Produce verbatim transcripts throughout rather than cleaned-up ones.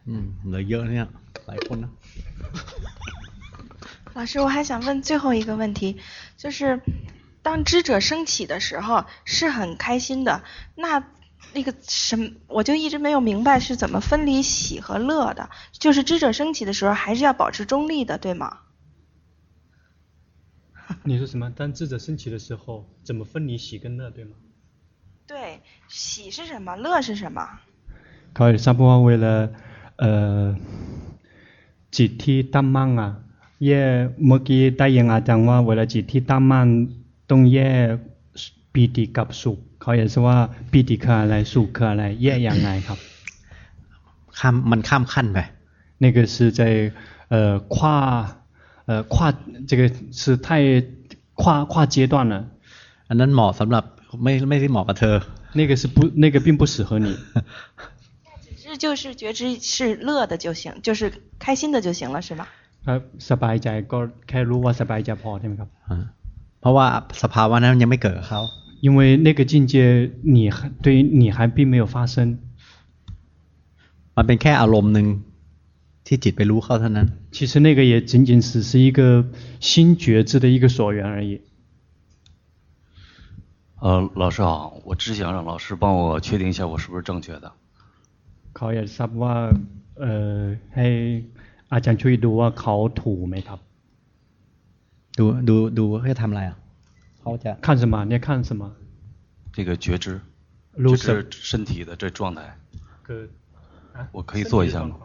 อืมเหลือเยอะเนี่ยหลายคนนะ老师，我还想问最后一个问题，就是当知者升起的时候是很开心的，那那个什么，我就一直没有明白是怎么分离喜和樂的，就是知者升起的時候還是要保持中立的，對嗎？ 你說什麼？當智者升起的時候，怎麼分離喜跟樂，對嗎？ 對，喜是什麼？樂是什麼？ เขาทราบว่าเวลาเอ่อจิตที่ตั้งมั่นอ่ะแยกเมื่อกี้ได้ยินอาจารย์ว่าเวลาจิตที่ตั้งมั่นต้องแยกปีติกับสุขเขาอยากจะว่าปีติคืออะไรสุขคืออะไรแยกยังไงครับข้ามมันข้ามขั้นไป那个是在呃跨呃跨这个是太跨跨階段了อันนั้นเหมาะสำหรับไม่ไม่ได้เหมาะกับเธอ那個是不那個並不適合你只是就是覺知是樂的就行，就是開心的就行了，是嗎？ ครับสบายใจก็แค่รู้ว่าสบายใจพอใช่ไหมครับเพราะว่าสภาวะนั้นยังไม่เกิดกับเขา因為那個境界你對你還並沒有發生มันเป็นแค่อารมณ์นึงที่จิตไปรู้เข้าเท่านั้น其實那個也僅僅只是一個新覺知的一個所緣而已呃，老師好，我只想讓老師幫我確定一下我是不是正確的。 เขาอยากทราบว่าเอ่อให้อาจารย์ช่วยดูว่าเขาถูกไหมครับดูดูดูให้ทำอะไรอ่ะเขาจะ看什麼你要看什麼這個覺知覺知身體的這狀態我可以做一下嗎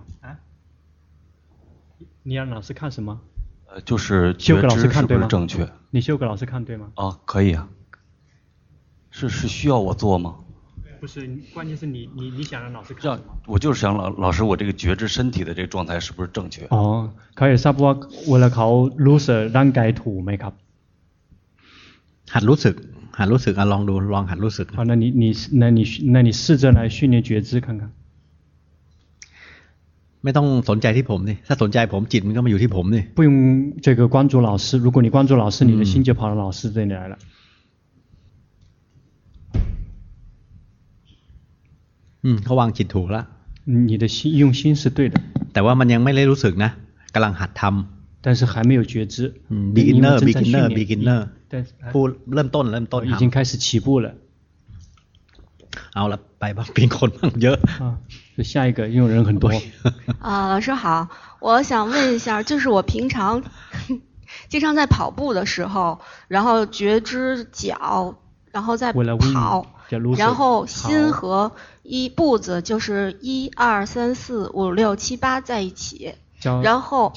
你讓老師看什麼呃，就是覺知是不是正確你修給老師看對嗎啊，可以啊是是需要我做嗎不是關鍵是你你你想讓老師看什麼我就是想老老師我這個覺知身體的這個狀態是不是正確อ๋อเขาอยากทราบว่าเวลาเขารู้สึกร่างกายถูกไหมครับหัดรู้สึกหัดรู้สึกอ่ะลองดูลองหัดรู้สึก好那你你那你那你試着來訓練覺知看看ไม่ต้องสนใจที่ผมนี่ถ้าสนใจผมจิตมันก็มาอยู่ที่ผมนี่不用這個關注老師如果你關注老師你的心就跑到老師這裡來了อืมเขาวางจิตถูกแล้ว你的心用心是對的แต่ว่ามันยังไม่ได้รู้สึกนะกำลังหัดทำ但是還沒有覺知 beginner beginner beginner ผู้เริ่มต้นเริ่มต้น已經開始起步了เอาละไปบ้างเป็นคนบ้างเยอะ就下一個因為人很多啊，老師好，我想問一下，就是我平常經常在跑步的時候，然後覺知腳，然後再跑，然後心和一步子就是一二三四五六七八在一起，然後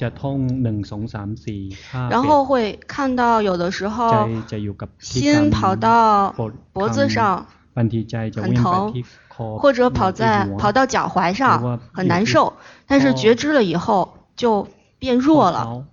然後會看到有的時候心跑到脖子上很疼，或者跑在跑到腳踝上很難受，但是覺知了以後就變弱了。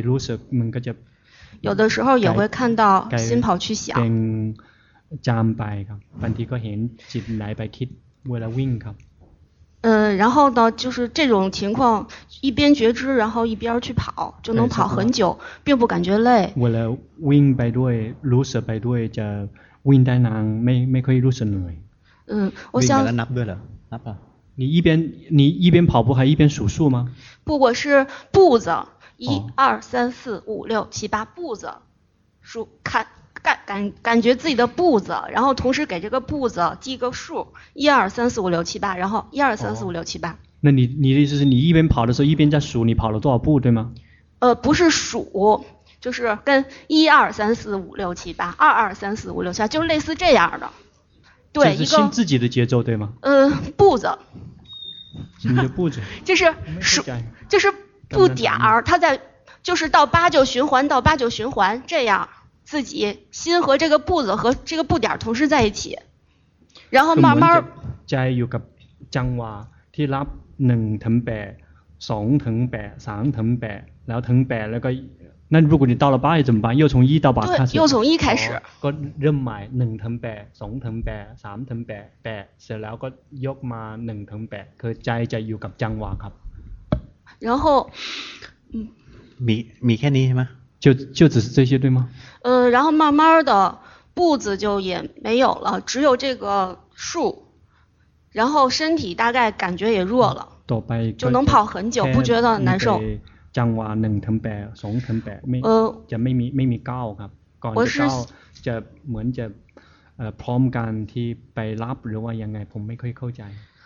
有的時候也會看到心跑去想。 จามไปครับบางทีก็เห็นจิตไหลไปคิดเวลาวิ่งครับ嗯，然後呢，就是這種情況，一邊覺知，然後一邊去跑，就能跑很久，並不感覺累。 เวลาวิ่งไปด้วยรู้สึกไปด้วยจะวิ่งได้นานไม่ไม่ค่อยรู้สึกเหนื่อย嗯，我想。 วิ่งแล้วนับด้วยเหรอนับป่ะ你一邊你一邊跑步還一邊數數嗎？ 不，我是步子，一二三四五六七八步子，數看。感感感覺自己的步子，然後同時給這個步子記個數，一二三四五六七八，然後一二三四五六七八。 那你你的意思是你一邊跑的時候一邊在數你跑了多少步，對嗎？ 呃，不是數，就是跟一二三四五六七八，二二三四五六七八，就是類似這樣的。對， 一個心自己的節奏，對嗎？ 呃，步子。 什麼叫步子？ 就是數，就是步點兒，它在就是到八就循環，到八就循環這樣。自己心和這個步子和這個步點同時在一起，然後慢慢ใจอยู่กับจังหวะที่รับหนึ่งถึงแปดสองถึงแปดสามถึงแปดแล้วถึงแปดแล้วก็那如果你到了八怎麼辦？又從一到八開始。 又從一開始。 ก็เริ่มใหม่หนึ่งถึงแปดสองถึงแปดสามถึงแปดแปดเสร็จแล้วก็ยกมาหนึ่งถึงแปดคือใจจะอยู่กับจังหวะครับ然後มีมีแค่นี้ใช่ไหม就就只是這些對嗎？ 呃，然後慢慢的步子就也沒有了，只有這個數， 然後身體大概感覺也弱了，就能跑很久，不覺得難受。 จังหวะหนึ่งถึงแปดสองถึงแปดไม่จะไม่มีไม่มีก้าวครับก่อนจะก้าวจะเหมือนจะพร้อมกันที่ไปรับหรือว่ายังไงผมไม่ค่อยเข้าใจ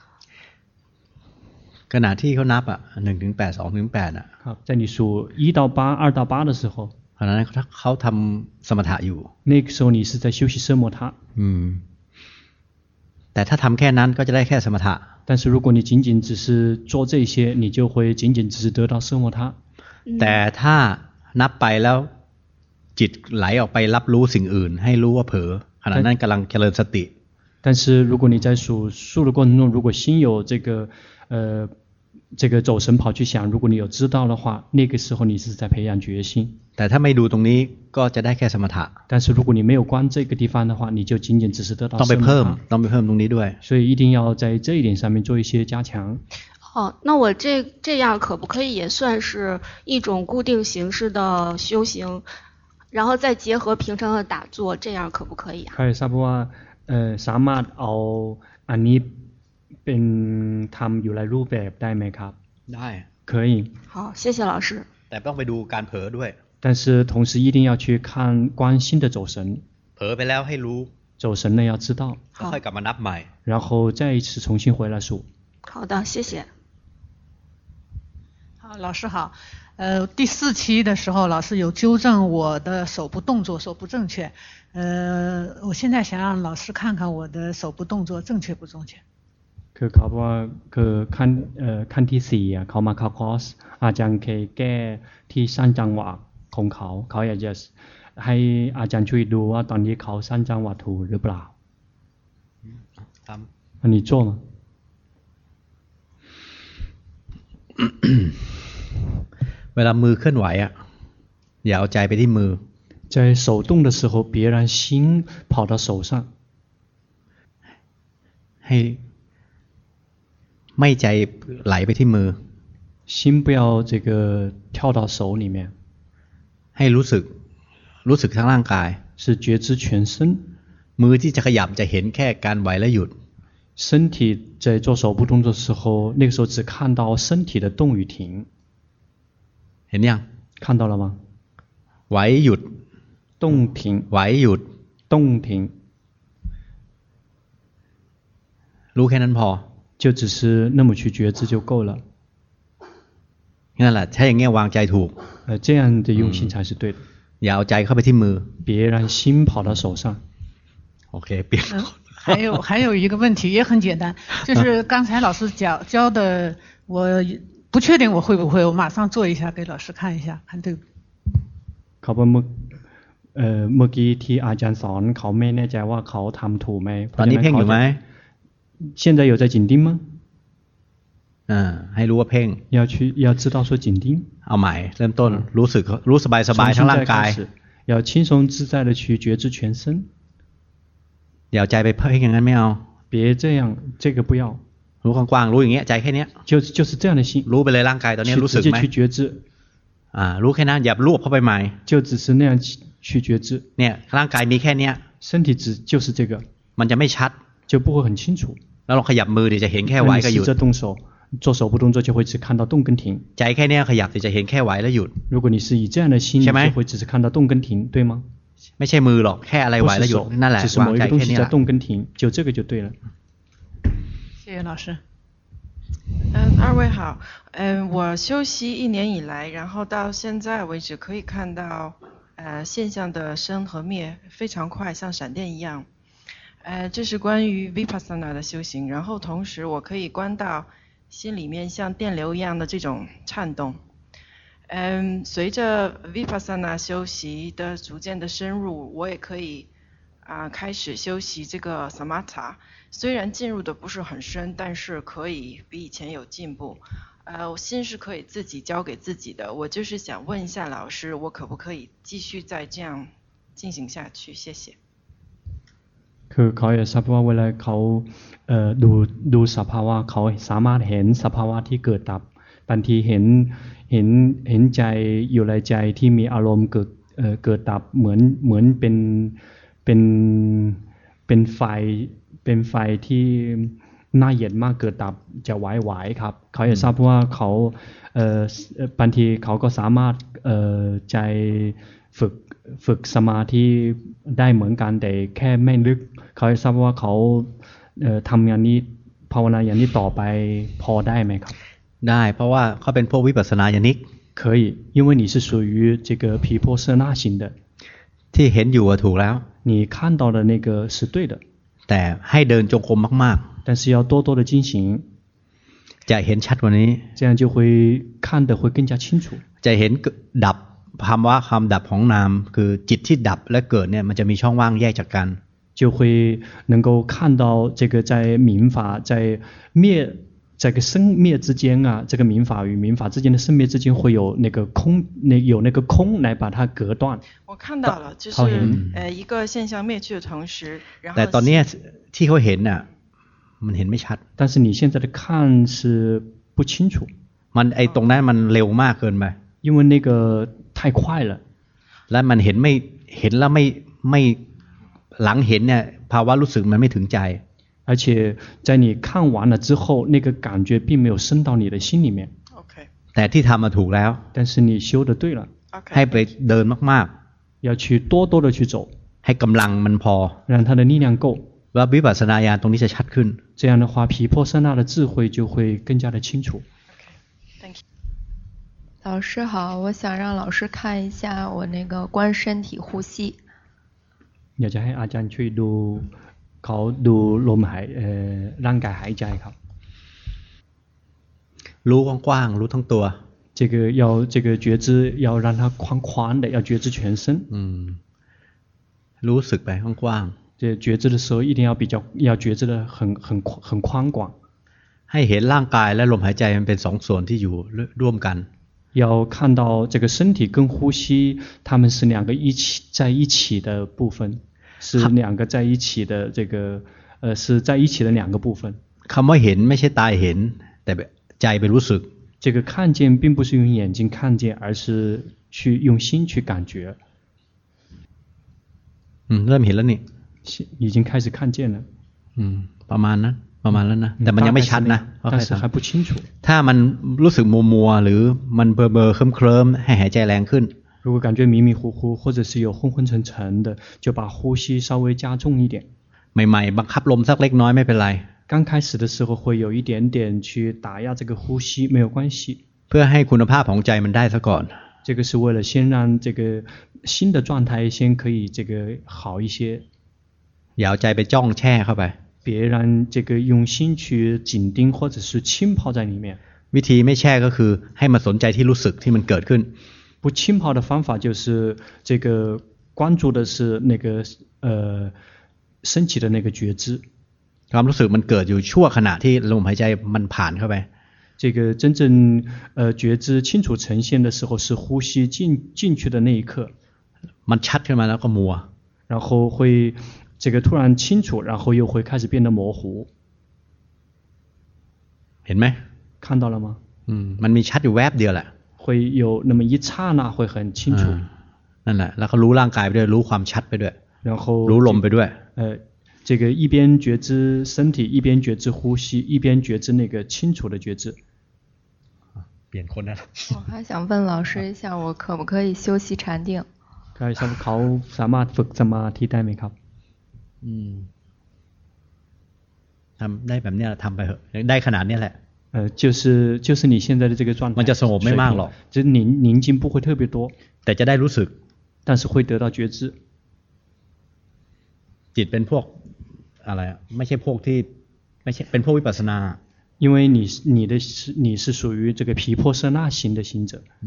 ขณะที่เขานับอ่ะหนึ่งถึงแปดสองถึงแปดอ่ะครับ在你数一到八二到八的时候ขณะนั้นเขาทำสมถะอยู่那个时候你是在休息奢摩他อืมแต่ถ้าทำแค่นั้นก็จะได้แค่สมถะ但是如果你仅仅只是做这些你就会仅仅只是得到奢摩他แต่ถ้านับไปแล้วจิตไหลออกไปรับรู้สิ่งอื่นให้รู้ว่าเผลอขณะนั้นกำลังเจริญสติ但是如果你在数数的过程中如果心有这个呃这个走神跑去想如果你有知道的话那个时候你是在培養決心แต่ถ้าไม่ดูตรงนี้ก็จะได้แค่สมถะ但是如果你沒有觀這個地方的話你就僅僅只是得到ต้องไปเพิ่มต้องไปเพิ่มตรงนี้ด้วย所以一定要在這一點上面做一些加強哦，那我這這樣可不可以也算是一種固定形式的修行然後再結合平常的打坐這樣可不可以啊ใครทราบว่าเอ่อสามารถเอาอันนี้เป็นทำอยู่ในรูปแบบได้ไหมครับได้可以好謝謝老師แต่ต้องไปดูการเผลอด้วย但是同時一定要去看觀心的走神เผลอไปแล้วให้รู้走神呢要知道แล้วค่อยกลับมานับใหม่然後再一次重新回來數好的謝謝好老師好呃，第四期的時候老師有糾正我的手部動作手不正確呃，我現在想讓老師看看我的手部動作正確不正確คือเขาบอกว่าคือขั้นเอ่อขั้นที่สี่อ่ะเขามาเข้าคอร์สอาจารย์เคยแก้ที่สั้นจังหวะของเขาเขาอยากจะให้อาจารย์ช่วยดูว่าตอนนี้เขาสั้นจังหวะถูกหรือเปล่าอันนี้做吗เวลามือเคลื่อนไหวอ่ะอย่าเอาใจไปที่มือ在手動的時候別讓心跑到手上ให้ไม่ใจไหลไปที่มือ心不要這個跳到手裡面ให้รู้สึกรู้สึกทั้งร่างกาย是覺知全身มือที่จะขยับจะเห็นแค่การไหวและหยุด身體在做手部動作的時候那個時候只看到身體的動與停เห็นยัง看到了嗎ไหวหยุด動停ไหวหยุด動停รู้แค่นั้นพอ就只是那麼去覺知就夠了นั่นแหละถ้าอย่างเงี้ยวางใจถูก呃這樣的用心才是對的อย่าเอาใจเข้าไปที่มือ別讓心跑到手上โอเคเปลี่ยน還有還有一個問題也很簡單就是剛才老師教教的我不確定我會不會我馬上做一下給老師看一下看對不對เขาบอกเมื่อเอ่อเมื่อกี้ที่อาจารย์สอนเขาไม่แน่ใจว่าเขาทำถูกไหมตอนนี้เพ่งอยู่ไหม現在有在緊盯嗎อ่าให้รู้ว่าเพ่ง要去要知道說緊盯เอาใหม่เริ่มต้นรู้สึกรู้สบายสบายทั้งร่างกาย要輕鬆自在的去覺知全身อย่าเอาใจไปเพ่งอย่างนั้นไม่เอา別這樣這個不要รู้กว้างๆรู้อย่างเงี้ยใจแค่เนี้ย就就是這樣的心รู้ไปเลยร่างกายตอนนี้รู้สึกไหม去覺知อ่ารู้แค่นั้นอย่ารวบเข้าไปใหม่就只是那樣去覺知เนี่ยร่างกายมีแค่เนี้ย身體只就是這個มันจะไม่ชัด就不會很清楚แล้วเราขยับมือเดี๋ยวจะเห็นแค่ไหวกับหยุด動手做手部動作就會只看到動跟停ใจแค่นี้ขยับเดี๋ยวจะเห็นแค่ไหวและหยุด如果你是以這樣的心你就會只是看到動跟停對嗎ไม่ใช่มือหรอกแค่อะไรไหวและหยุดนั่นแหละวางใจแค่นี้แหละ動跟停就這個就對了謝謝老師嗯，二位好。嗯，我修習一年以來，然後到現在為止，可以看到，呃，現象的生和滅非常快，像閃電一樣。呃，這是關於 Vipassana 的修行。然後同時，我可以觀到心裡面像電流一樣的這種顫動。嗯，隨着 Vipassana 修習的逐漸的深入，我也可以啊、呃、開始修習這個 Samatha。雖然進入的不是很深，但是可以比以前有進步。呃，我心是可以自己交給自己的。我就是想問一下老師，我可不可以繼續再這樣進行下去？謝謝。 คือเขาอยากทราบว่าเวลาเขาเอ่อดูดูสภาวะเขาสามารถเห็นสภาวะที่เกิดดับบางทีเห็นเห็นเห็นใจอยู่ในใจที่มีอารมณ์เกิดเอ่อเกิดดับเหมือนเหมือนเป็นเป็นเป็นไฟเป็นไฟที่หน้าเย็นมากเกิดดับจะไหวๆครับเขาอยากทราบว่าเขาเอ่อบางทีเขาก็สามารถเอ่อใจฝึกฝึกสมาธิได้เหมือนกันแต่แค่ไม่ลึกเขาอยากทราบว่าเขาเอ่อทำอย่างนี้ภาวนาอย่างนี้ต่อไปพอได้ไหมครับได้เพราะว่าเขาเป็นพวกวิปัสสนาญาณิก可以因为你是属于这个毗婆舍那型的ที่เห็นอยู่ถูกแล้ว你看到的那个是对的แต่ให้เดินจงกรมมากๆ但是要多多的进行จะเห็นชัดกว่านี้这样就会看得会更加清楚จะเห็นดับคำว่าความดับของนามคือจิตที่ดับและเกิดเนี่ยมันจะมีช่องว่างแยกจากกัน就会能够看到这个在民法在灭这个生灭之间啊这个民法与民法之间的生灭之间会有那个空那有那个空来把它隔断我看到了就是呃一个现象灭去的同时然后แต่ตอนนี้ที่เขาเห็นน่ะมันเห็นไม่ชัด但是你现在的看是不清楚มันไอตรงนั้นมันเร็วมากเกินไป因为那个太快了และมันเห็นไม่เห็นแล้วไม่ไม่หลังเห็นเนี่ยภาวะรู้สึกมันไม่ถึงใจ而且在你看完了之后那个感觉并没有升到你的心里面 okay. แต่ที่ทำมาถูกแล้ว但是你修得对了 okay. ให้ไปเดินมากๆ要去多多的去走ให้กำลังมันพอ让它的力量够ว่าวิปัสสนาญาณตรงนี้จะชัดขึ้น这样的话毗婆舍那的智慧就会更加的清楚 okay. Thank you. 老师好我想让老師看一下我那個觀身體呼吸อยากจะให้อาจารย์ช่วยดูเขาดูลมหายร่างกายหายใจครับรู้กว้างๆรู้ทั้งตัว这个要这个觉知要让它宽宽的要觉知全身嗯รู้สึกไปกว้างๆ这觉知的时候一定要比较要觉知的很很很宽广ให้เห็นร่างกายและลมหายใจมันเป็นสองส่วนที่อยู่ร่วมกัน要看到这个身体跟呼吸它们是两个一起在一起的部分是两个在一起的这个呃是在一起的两个部分คำว่าเห็นไม่ใช่ตาเห็นแต่ใจไปรู้สึก这个看见并不是用眼睛看见而是去用心去感觉อืมเริ่มเห็นแล้วนี่已经开始看见了อืมประมาณนั้นประมาณแล้วนะแต่มันยังไม่ชัดนะ但是还不清楚ถ้ามันรู้สึกมัวๆหรือมันเบลอๆเคลิ้มๆให้หายใจแรงขึ้น如果感觉迷迷糊糊或者是有昏昏沉沉的就把呼吸稍微加重一点ใหม่ๆบังคับลมสักเล็กน้อยไม่เป็นไร刚开始的时候会有一点点去打压這個呼吸沒有關係เพื่อให้คุณภาพของใจมันได้ซะก่อน這個是為了先讓這個新的狀態先可以這個好一些อย่าเอาใจไปจ้องแช่เข้าไป別讓這個用心去緊盯或者是浸泡在裡面วิธีไม่แช่ก็คือให้มาสนใจที่รู้สึกที่มันเกิดขึ้น不浸泡的方法就是這個關注的是那個呃升起的那個覺知ความรู้สึกมันเกิดอยู่ชั่วขณะที่ลมหายใจมันผ่านเข้าไป這個真正呃覺知清楚呈現的時候是呼吸進進去的那一刻มันชัดขึ้นมาแล้วก็มัว然後會這個突然清楚然後又會開始變得模糊เห็นไหม看到了嗎อืมมันมีชัดอยู่แวบเดียวแหละ會有那麼一剎那會很清楚นั่นแหละแล้วก็รู้ร่างกายไปด้วยรู้ความชัดไปด้วย然後รู้ลมไปด้วย呃這個一邊覺知身體一邊覺知呼吸一邊覺知那個清楚的覺知เปลี่ยนคนแล้ว我還想問老師一下我可不可以休息禪定เขาสามารถฝึกสมาธิได้ไหมครับอืมทำได้แบบนี้ทำไปเถอะได้ขนาดนี้แหละ呃就是就是你現在的這個狀態มันจะสงบไม่มากหรอก就是寧寧靜不會特別多แต่จะได้รู้สึก但是會得到覺知จิตเป็นพวกอะไรไม่ใช่พวกที่ไม่ใช่เป็นพวกวิปัสสนา因為你你的是你是屬於這個毗婆舍那型的行者嗯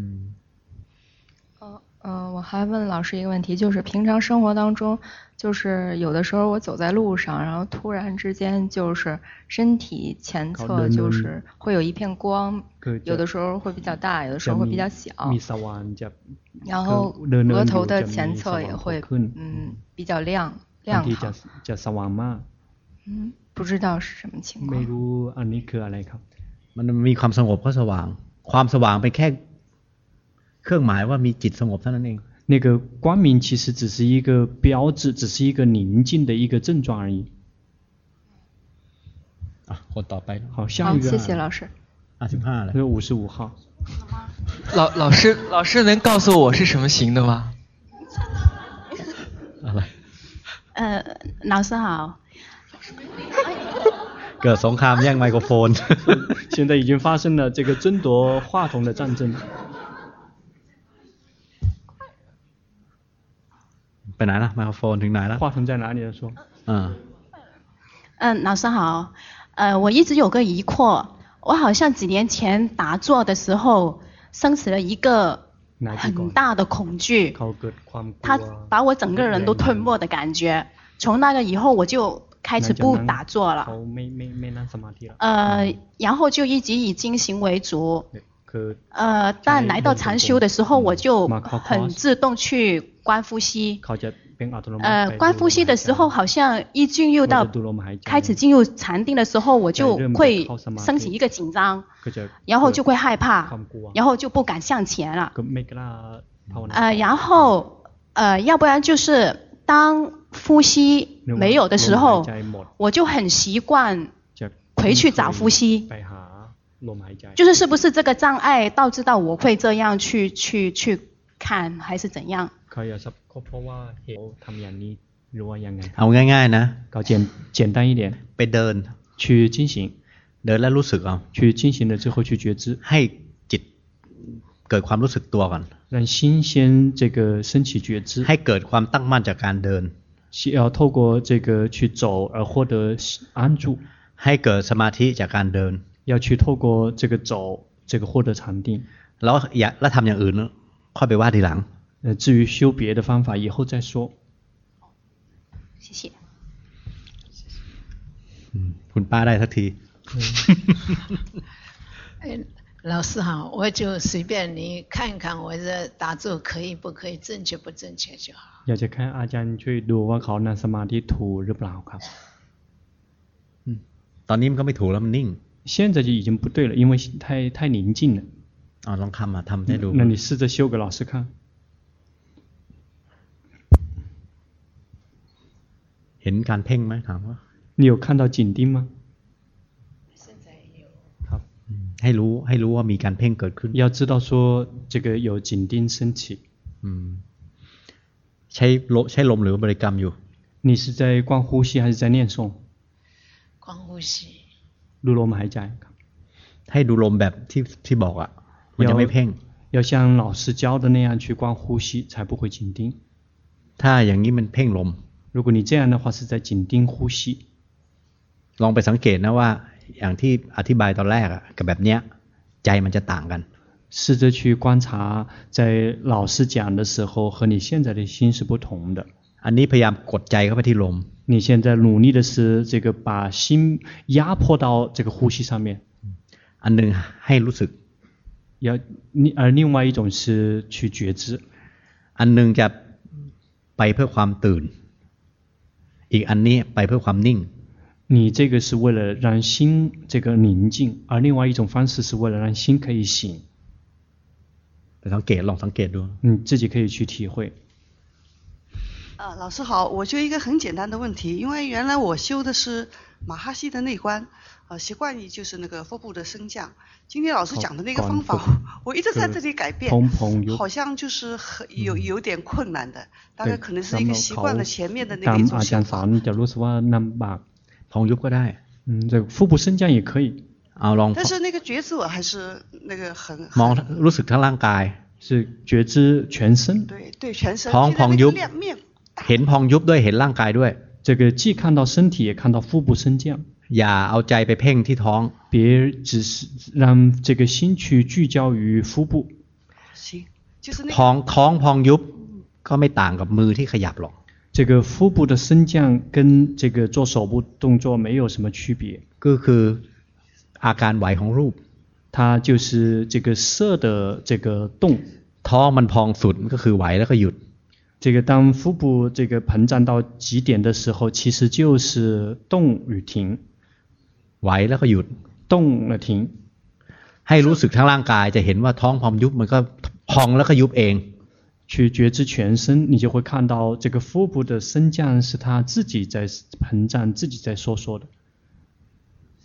呃，我還問老師一個問題，就是平常生活當中，就是有的時候我走在路上，然後突然之間就是身體前側就是會有一片光，有的時候會比較大，有的時候會比較小，然後額頭的前側也會嗯比較亮亮好。嗯，不知道是什麼情況。 ไม่รู้อันนี้คืออะไรครับมันมีความสงบก็สว่างความสว่างเป็นแค่เครื่องหมายว่ามีจิตสงบเท่านั้นเอง那个光明其實只是一個標誌只是一個寧靜的一個症狀而已อ่ะคนต่อไป好下一个谢谢老师ห้าสิบห้าเลย五十五号老老师老师能告诉我是什么型的吗อะไร呃老师好เกิดสงครามแย่งไมโครโฟน现在已经发生了这个争夺话筒的战争ไปไหนล่ะไมโครโฟนถึงไหนแล้ว话筒在哪里了说嗯嗯老师好呃我一直有个疑惑我好像几年前打坐的时候升起了一个很大的恐惧它把我整个人都吞没的感觉从那個以後我就開始不打坐了呃然後就一直以精行為主呃但來到禪修的時候我就很自動去觀呼吸呃觀呼吸的時候好像一進入到開始進入禪定的時候我就會升起一個緊張然後就會害怕然後就不敢向前了呃然後呃要不然就是當呼吸沒有的時候我就很習慣回去找呼吸就是是不是這個障礙導致到我會這樣去去去看還是怎樣เอาง่ายๆนะ搞簡簡單一點ไปเดิน去進行เดินแล้วรู้สึกเอา去進行了之後去覺知ให้จิตเกิดความรู้สึกตัวก่อน讓心先這個升起覺知ให้เกิดความตั้งมั่นจากการเดิน要透過這個去走而獲得安住ให้เกิดสมาธิจากการเดิน要去透過這個走這個獲得禪定แล้วอยากแล้วทำอย่างอื่นค่อยไปว่าทีหลัง呃至於修別的方法以後再說謝謝คุณป้าได้สักที老師好我就隨便你看看我的打坐可以不可以正確不正確就好อยากจะแค่อาจารย์ช่วยดูว่าเขานั่งสมาธิถูกหรือเปล่าครับตอนนี้มันก็ไม่ถูกแล้วมันนิ่ง現在就已經不對了因為太太寧靜了อ๋อลองทำมาทำให้ดู那你試着修給老師看เห็นการเพ่งไหมถามว่า你有看到緊盯嗎ให้รู้ให้รู้ว่ามีการเพ่งเกิดขึ้น要知道說這個有緊盯升起ใช้ใช้ลมหรือบริกรรมอยู่你是在觀呼吸還是在念誦觀呼吸ดูลมหายใจให้ดูลมแบบที่ที่บอกอ่ะมันจะไม่เพ่ง要像老師教的那樣去觀呼吸才不會緊盯ถ้าอย่างนี้มันเพ่งลม如果你這樣的話是在緊盯呼吸ลองไปสังเกตนะว่าอย่างที่อธิบายตอนแรกอ่ะกับแบบเนี้ยใจมันจะต่างกัน試着去觀察在老師講的時候和你現在的心是不同的อันนี้พยายามกดใจเข้าไปที่ลม你現在努力的是這個把心壓迫到這個呼吸上面อันนึงให้รู้สึก要而另外一種是去覺知อันนึงจะไปเพื่อความตื่นอีกอันนี้ไปเพื่อความนิ่ง你這個是為了讓心這個寧靜而另外一種方式是為了讓心可以醒สังเกตลองสังเกตดู你自己可以去體會啊，老師好，我就一個很簡單的問題，因為原來我修的是馬哈西的內觀，呃，習慣於就是那個腹部的升降。今天老師講的那個方法，我一直在這裡改變，好像就是很有有點困難的，大概可能是一個習慣了前面的那個一種想法。 จะรู้สึกว่าลำบากพองยุบก็ได้嗯，這個腹部升降也可以啊，ลอง但是那個覺知我還是那個很มองรู้สึกทั้งร่างกาย是覺知全身對對全身ท้องพองยุบเห็นพองยุบด้วยเห็นร่างกายด้วย這個既看到身體也看到腹部升降อย่าเอาใจไปเพ่งที่ท้อง別只是讓這個心去聚焦於腹部ท้องท้องพองยุบก็ไม่ต่างกับมือที่ขยับหรอก這個腹部的升降跟這個做手部動作沒有什麼區別ก็คืออาการไหวของรูป它就是這個色的這個動ท้องมันพองสุดก็คือไหวแล้วก็หยุด這個當腹部這個膨脹到極點的時候其實就是動與停ไหวแล้วก็หยุด動了停ให้รู้สึกทั้งร่างกายจะเห็นว่าท้องพองยุบมันก็พองแล้วก็ยุบเอง去覺知全身你就會看到這個腹部的升降是它自己在膨脹自己在收縮的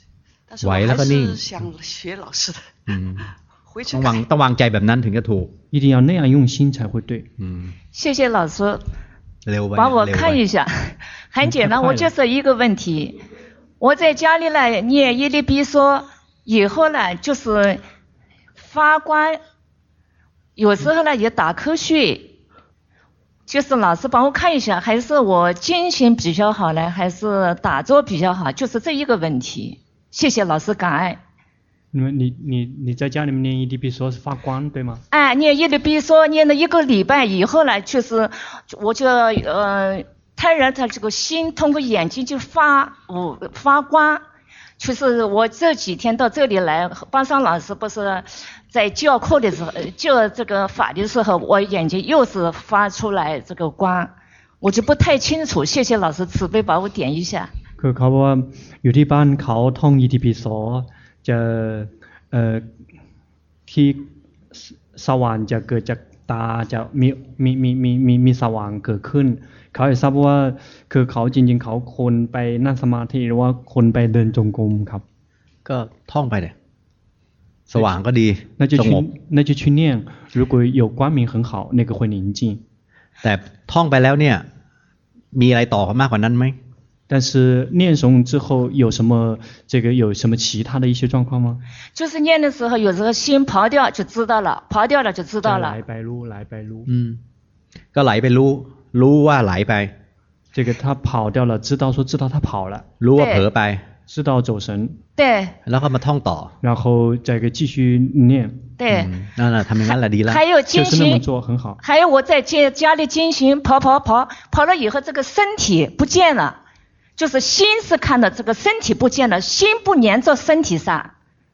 但是我还是想学老师的。 嗯，ต้องวางต้องวางใจแบบนั้นถึงจะถูก一定要那样用心才会对。 嗯，谢谢老师。帮我看一下，很简单，我就是一个问题。我在家里呢念耶利比索以後呢，就是發光，有時候呢也打瞌睡。就是老師幫我看一下，還是我精神比較好呢，還是打坐比較好？就是這一個問題。謝謝老師，感恩。 你你你你在家裡面念耶利比索是發光對嗎？ 哎，念耶利比索念了一個禮拜以後呢，就是我就呃，突然他這個心通過眼睛就發我發光。就是我這幾天到這裡來，巴桑老師不是在教課的時候，教這個法的時候，我眼睛又是發出來這個光，我就不太清楚。謝謝老師慈悲把我點一下。 คือเขาบอกว่าอยู่ที่บ้านเขาท่องอิติปิโสจะเอ่อที่สว่างจะเกิดจากตาจะมีมีมีมีมีมีสว่างเกิดขึ้นเขาอยากทราบว่าคือเขาจริงๆเขาคนไปนั่งสมาธิหรือว่าคนไปเดินจงกรมครับก็ท่องไปเลยสว่างก็ดีสงบ那就去念如果有光明很好那个会宁靜แต่ท่องไปแล้วเนี่ยมีอะไรต่อมากกว่านั้นไหม但是念诵之後有什麼這個有什麼其他的一些狀況嗎？ 就是念的時候，有時候心跑掉就知道了，跑掉了就知道了。 來ไปรู้來ไปรู้อืมก็ไหลไปรู้รู้ว่าไหลไป這個他跑掉了知道說知道他跑了รู้ว่าเผลอไป知道走神對แล้วก็มาท่องต่อ然後這個繼續念對นั่นแหละทำอย่างนั้นแหละดีแล้ว還有精行還有我在家家裡精行跑跑跑跑了以後這個身體不見了就是心是看到這個身體不見了心不黏着身體上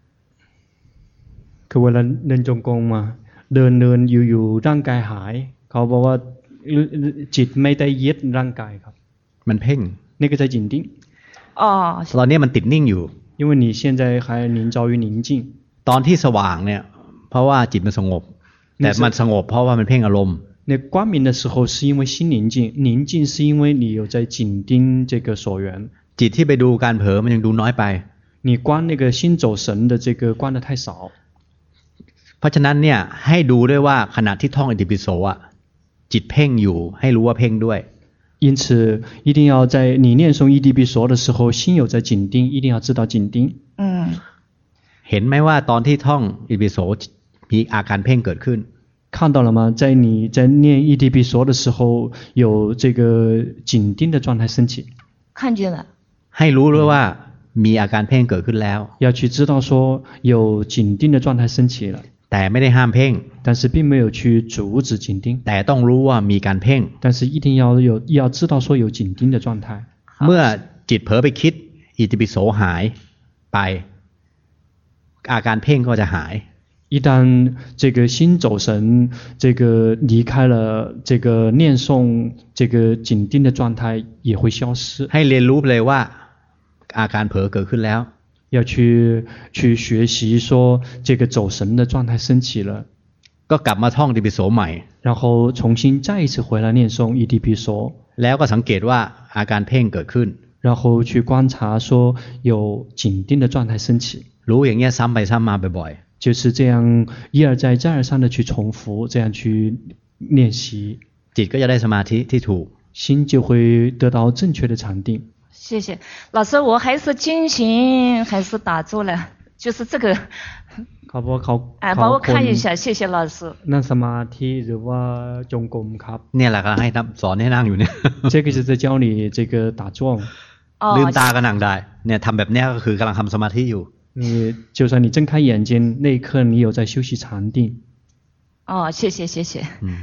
คือเวลาเดินจงกรมมาเดินเดินอยู่ๆร่างกายหายเขาบอกว่าจิตไม่ได้ยึดร่างกายครับมันเพ่ง那個在緊盯อ๋อตอนนี้มันติดนิ่งอยู่因為你現在還臨着於寧靜ตอนที่สว่างเนี่ยเพราะว่าจิตมันสงบแต่มันสงบเพราะว่ามันเพ่งอารมณ์那光明的時候是因為心寧靜寧靜是因為你有在緊盯這個所緣จิตที่ไปดูการเผลอมันยังดูน้อยไป你觀那個心走神的這個觀得太少เพราะฉะนั้นเนี่ยให้ดูด้วยว่าขณะที่ท่องอิติปิโสอ่ะจิตเพ่งอยู่ให้รู้ว่าเพ่งด้วย因此一定要在你念誦อิติปิโส的時候心有在緊盯一定要知道緊盯嗯เห็นไหมว่าตอนที่ท่องอิติปิโสมีอาการเพ่งเกิดขึ้น看到了嗎？在你在念อิติปิโส的時候有這個緊盯的狀態升起看見了ให้รู้ด้วยว่ามีอาการเพ่งเกิดขึ้นแล้ว要去知道說有緊盯的狀態升起了แต่ไม่ได้ห้ามเพ่ง但是並沒有去阻止緊盯แต่ต้องรู้ว่ามีการเพ่ง但是一定要有要知道說有緊盯的狀態เมื่อจิตเผลอไปคิดอิติปิโสหายไปอาการเพ่งก็จะหาย一旦這個心走神這個離開了這個念誦這個緊盯的狀態也會消失ให้เรียนรู้เลยว่าอาการเผลอเกิดขึ้นแล้ว要去去學習說這個走神的狀態升起了ก็กลับมาท่องอิติปิโสใหม่然後重新再一次回來念誦อิติปิโสแล้วก็สังเกตว่าอาการเพ่งเกิดขึ้น然後去觀察說有緊盯的狀態升起รู้อย่างเงี้ยซ้ำไปซ้ำมาบ่อยๆ就是這樣一而再再而三的去重複這樣去練習จิตก็จะได้สมาธิที่ถูก心就會得到正確的禪定謝謝老師我還是精行還是打坐了就是這個เขาบอกเขา哎幫我看一下謝謝老師นั่งสมาธิหรือว่าจงกรมครับเนี่ยแหละก็ให้สอนให้นั่งอยู่เนี่ย這個是在教你這個打坐ลืมตาก็นั่งได้เนี่ยทำแบบนี้ก็คือกำลังทำสมาธิอยู่你就算你睜開眼睛那一刻你有在休息禪定哦謝謝謝謝嗯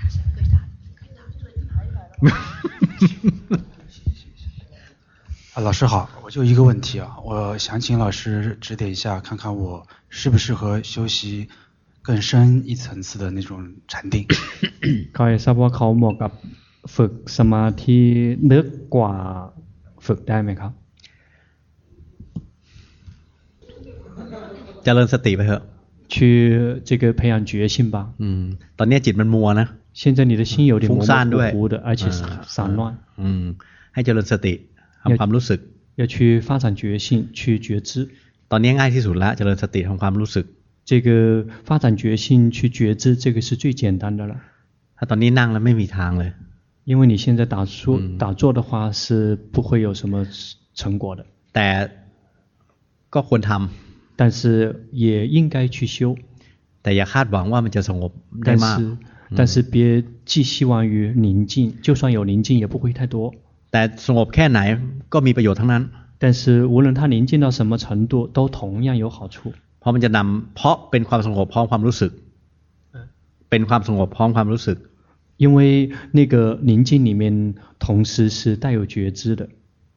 啊，老師好，我就一個問題啊，我想請老師指點一下，看看我適不適合修習更深一層次的那種禪定。 เขาอยากทราบว่าเขาเหมาะกับฝึกสมาธิลึกกว่าฝึกได้ไหมครับเจริญสติไปเถอะ去這個培養覺性吧อืมตอนนี้จิตมันมัวนะ現在你的心有點模模糊糊的而且散亂อืมให้เจริญสติทำความรู้สึก要去發展覺性去覺知ตอนนี้ง่ายที่สุดละเจริญสติทำความรู้สึก这个发展决心去觉知，这个是最简单的了。 ถ้าตอนนี้นั่งแล้วไม่มีทางเลย因为你现在打坐、嗯、打坐的话是不会有什么成果的。 แต่ก็ควรทำ但是也应该去修。 แต่อย่าคาดหวังว่ามันจะสงบได้มาก但是但是別寄希望於寧靜，就算有寧靜也不會太多。 แต่สงบแค่ไหนก็มีประโยชน์ทั้งนั้น但是無論它寧靜到什麼程度都同樣有好處。 เพราะมันจะนำเพราะเป็นความสงบพร้อมความรู้สึกเป็นความสงบพร้อมความรู้สึก因為那個寧靜裡面同時是帶有覺知的。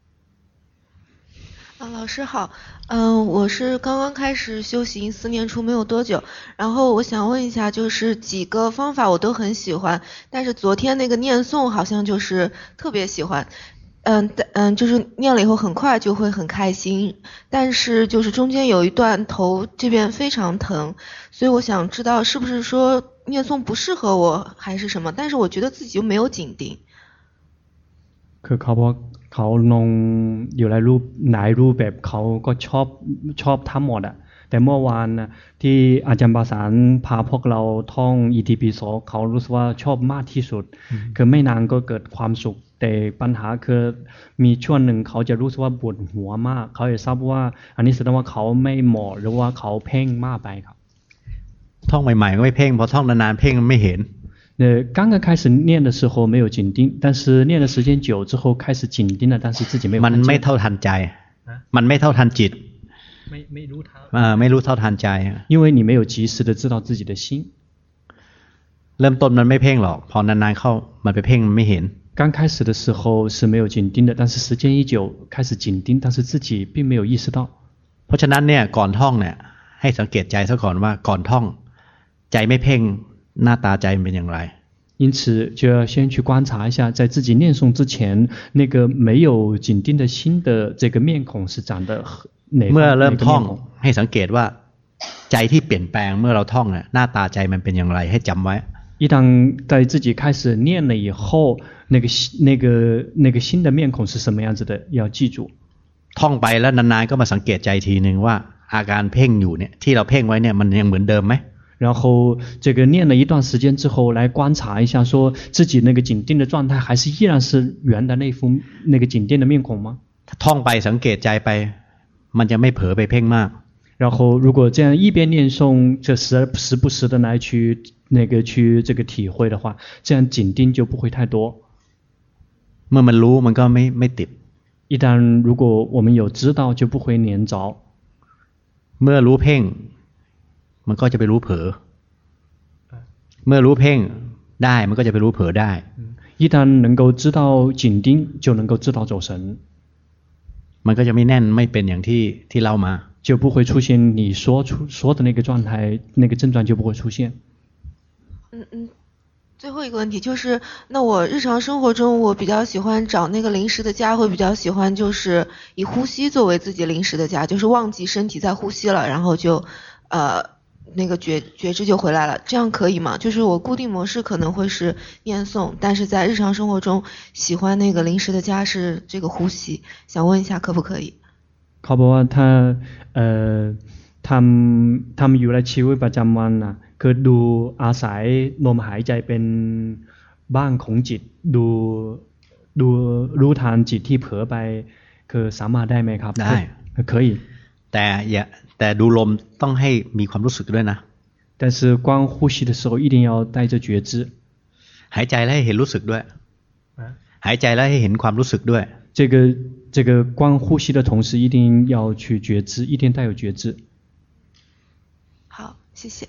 啊，老師好，嗯、呃，我是剛剛開始修行，四年初沒有多久，然後我想問一下，就是幾個方法我都很喜歡，但是昨天那個念誦好像就是特別喜歡，嗯嗯，就是念了以後很快就會很開心，但是就是中間有一段頭這邊非常疼，所以我想知道是不是說念誦不適合我還是什麼，但是我覺得自己又沒有緊盯。 คือเขาบอกเขาลงอยู่ในรูปไหนรูปแบบเขาก็ชอบชอบทั้งหมดอ่ะแต่เมื่อวานนะที่อาจารย์ประสานพาพวกเราท่องอิติปิโสเขารู้สึกว่าชอบมากที่สุดคือไม่นานก็เกิดความสุขแต่ปัญหาคือมีช่วงหนึ่งเขาจะรู้สึกว่าปวดหัวมากเขาจะทราบว่าอันนี้แสดงว่าเขาไม่เหมาะหรือว่าเขาเพ่งมากไปครับท่องใหม่ๆก็ไม่เพ่งพอท่องนานๆเพ่งไม่เห็น呃，刚刚開始念的時候沒有緊盯，但是念的時間久之後開始緊盯了，但是自己沒有。 มันไม่เท่าทันใจมันไม่เท่าทันจิตไม่ไม่รู้เท่าอ่าไม่รู้เท่าทันใจ因為你沒有及時的知道自己的心。 เริ่มต้นมันไม่เพ่งหรอกพอนานๆเข้ามันไปเพ่งมันไม่เห็น剛開始的時候是沒有緊盯的，但是時間一久開始緊盯，但是自己並沒有意識到。 เพราะฉะนั้นเนี่ยก่อนท่องเนี่ยให้สังเกตใจซะก่อนว่าก่อนท่องใจไม่เพ่งหน้าตาใจมันเป็นอย่างไร因此就要先去觀察一下在自己念誦之前那個沒有緊盯的心的這個面孔是長得哪เมื่อเริ่มท่องให้สังเกตว่าใจที่เปลี่ยนแปลงเมื่อเราท่องเนี่ยหน้าตาใจมันเป็นอย่างไรให้จำไว้一旦在自己開始念了以後那個那個那個心的面孔是什麼樣子的要記住ท่องไปแล้วนานๆก็มาสังเกตใจทีนึงว่าอาการเพ่งอยู่เนี่ยที่เราเพ่งไว้เนี่ยมันยังเหมือนเดิมไหม然後這個念了一段時間之後來觀察一下說自己那個緊盯的狀態還是依然是原的那副那個緊盯的面孔嗎ท่องไปสังเกตใจไปมันจะไม่เผลอไปเพ่งมาก然後如果這樣一邊念誦這時時不時的來去那個去這個體會的話這樣緊盯就不會太多เมื่อมันรู้มันก็ไม่ไม่ติด一旦如果我們有知道就不會黏着เมื่อรู้เพ่งมันก็จะไปรู้เผลอเมื่อรู้เพ่งได้มันก็จะไปรู้เผลอได้一旦能夠知道緊盯就能夠知道走神มันก็จะไม่แน่นไม่เป็นอย่างที่ที่เล่ามา就不會出現你說出說的那個狀態那個症狀就不會出現嗯嗯最後一個問題就是那我日常生活中我比較喜歡找那個臨時的家會比較喜歡就是以呼吸作為自己臨時的家就是忘記身體在呼吸了然後就呃那個覺覺知就回來了，這樣可以嗎？就是我固定模式可能會是念誦，但是在日常生活中喜歡那個臨時的家是這個呼吸，想問一下可不可以？ เขาบอกว่าถ้าเอ่อทำทำอยู่ในชีวิตประจำวันนะคือดูอาศัยลมหายใจเป็นบ้านของจิตดูดูรู้ทันจิตที่เผลอไปคือสามารถได้ไหมครับได้可以แต่อย่าแต่ดูลมต้องให้มีความรู้สึกด้วยนะ但是光呼吸的時候一定要帶着覺知หายใจแล้วให้เห็นรู้สึกด้วยหายใจแล้วให้เห็นความรู้สึกด้วย這個這個光呼吸的同時一定要去覺知一定帶有覺知好謝謝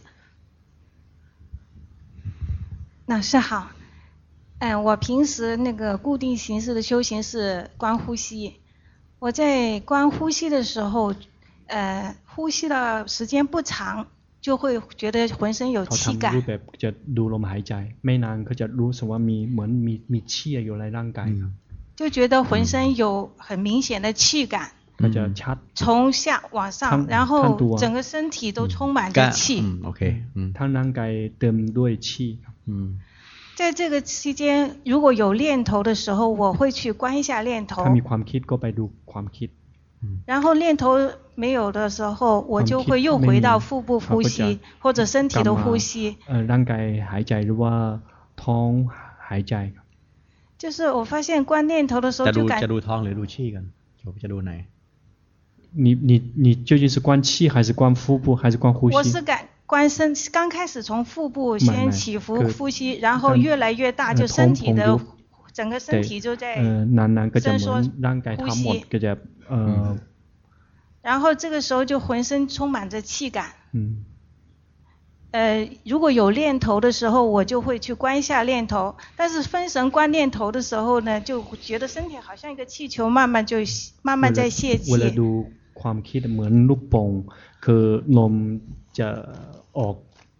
老師好嗯我平時那個固定形式的修行是觀呼吸我在觀呼吸的時候呃呼吸的時間不長就會覺得渾身有氣感เขาทำรูปแบบจะดูลมหายใจไม่นานก็จะรู้สึกว่ามีเหมือนมีมี氣อยู่ในร่างกาย就覺得渾身有很明顯的氣感ก็จะชัด從下往上然後整個身體都充滿着氣ทั้งร่างกายเต็มด้วย氣在這個期間如果有念頭的時候我會去觀一下念頭ถ้ามีความคิดก็ไปดูความคิด然後念頭沒有的時候，我就會又回到腹部呼吸或者身體的呼吸。 ร่างกายหายใจหรือว่าท้องหายใจ。 就是我發現觀念頭的時候就感。 จะดูท้องหรือดู氣กันจะดูไหน？ 你你你究竟是觀氣還是觀腹部還是觀呼吸？ 我是感觀身，剛開始從腹部先起伏呼吸，然後越來越大，就身體的整個身體就在伸縮呼吸。 呃， 然後這個時候就渾身充滿着氣感。嗯。呃，如果有念頭的時候，我就會去觀一下念頭。但是分神觀念頭的時候呢，就覺得身體好像一個氣球，慢慢就慢慢在泄氣。 เวลาดูความคิดเหมือนลูกโป่งคือลมจะออก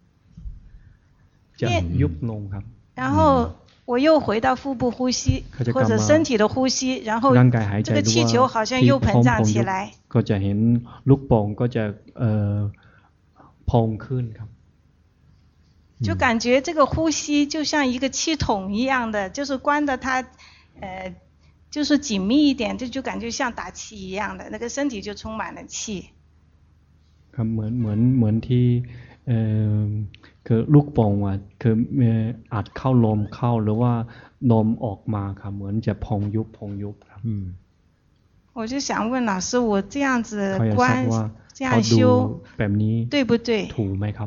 จะยุบลงครับ。 然後我又回到腹部呼吸，或者身體的呼吸，然後這個氣球好像又膨脹起來。 ก็จะเห็นลูกโป่งก็จะเอ่อพองขึ้นครับ。 就感覺這個呼吸就像一個氣筒一樣的，就是關的它，呃，就是緊密一點，這就感覺像打氣一樣的，那個身體就充滿了氣。 ครับเหมือนเหมือนเหมือนที่เอ่อคือลูกโป่งอ่ะคืออัดเข้าลมเข้าหรือว่าลมออกมาครับเหมือนจะพองยุบพองยุบครับ。嗯。 我就想問老師，我這樣子觀這樣修對不對？ ถูกไหมครับ？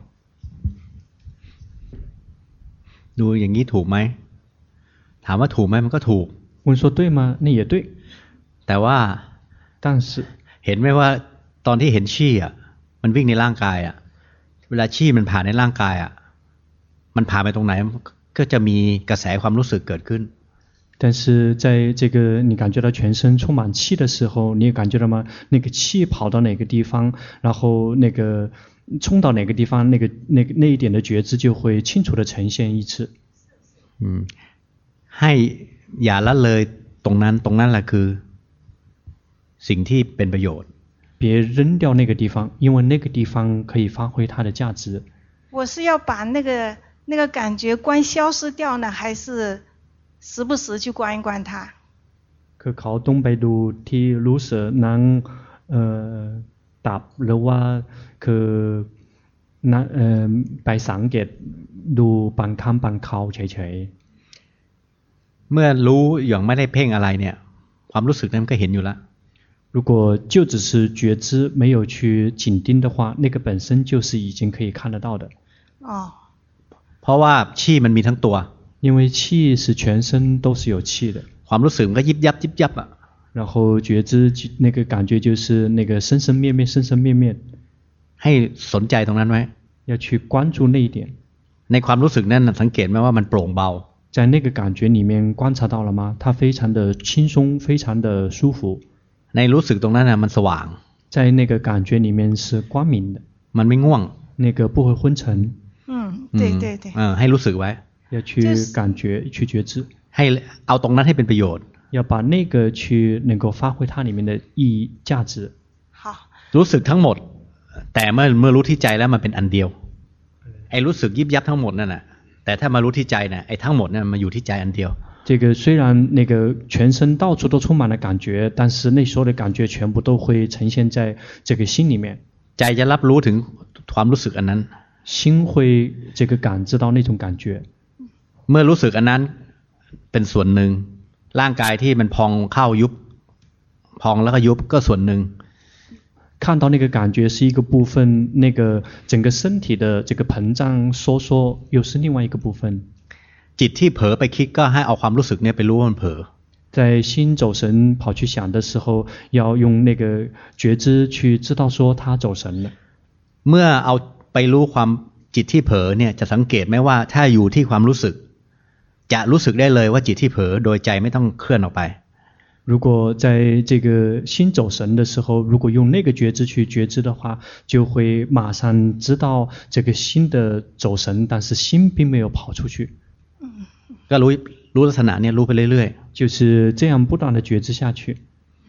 ดูอย่างนี้ถูกไหมถามว่าถูกไหมมันก็ถูก问说对吗那也对แต่ว่า但是เห็นไหมว่าตอนที่เห็นชี่อ่ะมันวิ่งในร่างกายอ่ะเวลาชี่มันผ่านในร่างกายอ่ะมันผ่านไปตรงไหนก็จะมีกระแสความรู้สึกเกิดขึ้น但是在这个你感覺到全身充滿氣的時候你也感覺到嗎那個氣跑到哪個地方然後那個衝到哪個地方那個那個那一點的覺知就會清楚地呈現一次嗯ให้อย่าละเลยตรงนั้นตรงนั้นแหละคือสิ่งที่เป็นประโยชน์別扔掉那個地方因為那個地方可以發揮它的價值我是要把那個那個感覺觀消失掉呢還是時不時去觀一觀它คือเขาต้องไปดูที่รู้สึกนั้นเอ่อดับหรือว่าคือนะเอ่อไปสังเกตดูบางครั้งบางคราวเฉยๆเมื่อรู้อย่างไม่ได้เพ่งอะไรเนี่ยความรู้สึกนั้นมันก็เห็นอยู่แล้ว如果就只是覺知沒有去緊盯的話那個本身就是已經可以看得到的哦เพราะว่า氣มันมีทั้งตัว因為氣是全身都是有氣的ความรู้สึกมันก็ยิบยับยิบยับอ่ะ然後覺知那個感覺就是那個生生滅滅生生滅滅ให้สนใจตรงนั้นไว้要去關注那一點ในความรู้สึกนั้นสังเกตไหมว่ามันโปร่งเบา在那個感覺裡面觀察到了嗎它非常的輕鬆非常的舒服ในรู้สึกตรงนั้นน่ะมันสว่าง在那個感覺裡面是光明的มันไม่ง่วง那個不會昏沉嗯對對對เออให้รู้สึกไว้要去感覺去覺知ให้เอาตรงนั้นให้เป็นประโยชน์要把那個去能夠發揮它裡面的意義價值好รู้สึกทั้งหมดแต่เมื่อเมื่อรู้ที่ใจแล้วมันเป็นอันเดียวไอ้รู้สึกยิบยับทั้งหมดนั่นน่ะแต่ถ้ามารู้ที่ใจน่ะไอ้ทั้งหมดนั่นมันอยู่ที่ใจอันเดียว這個雖然那個全身到處都充滿了感覺但是那所有的感覺全部都會呈現在這個心裡面ใจจะรับรู้ถึงความรู้สึกอันนั้น心會這個感知到那種感覺เมื่อรู้สึกอันนั้นเป็นส่วนหนึ่งร่างกายที่มันพองเข้ายุบพองแล้วก็ยุบก็ส่วนหนึ่ง看到那個感覺是一個部分那個整個身體的這個膨脹收縮又是另外一個部分จิตที่เผลอไปคิดก็ให้เอาความรู้สึกเนี่ยไปรู้ว่ามันเผลอ在心走神跑去想的時候要用那個覺知去知道說他走神了เมื่อเอาไปรู้ความจิตที่เผลอเนี่ยจะสังเกตไหมว่าถ้าอยู่ที่ความรู้สึกจะรู้สึกได้เลยว่าจิตที่เผลอโดยใจไม่ต้องเคลื่อนออกไป如果在這個心走神的時候如果用那個覺知去覺知的話就會馬上知道這個心的走神但是心並沒有跑出去ก็รู้รู้ลักษณะเนี่ยรู้ไปเรื่อยๆ就是這樣不斷的覺知下去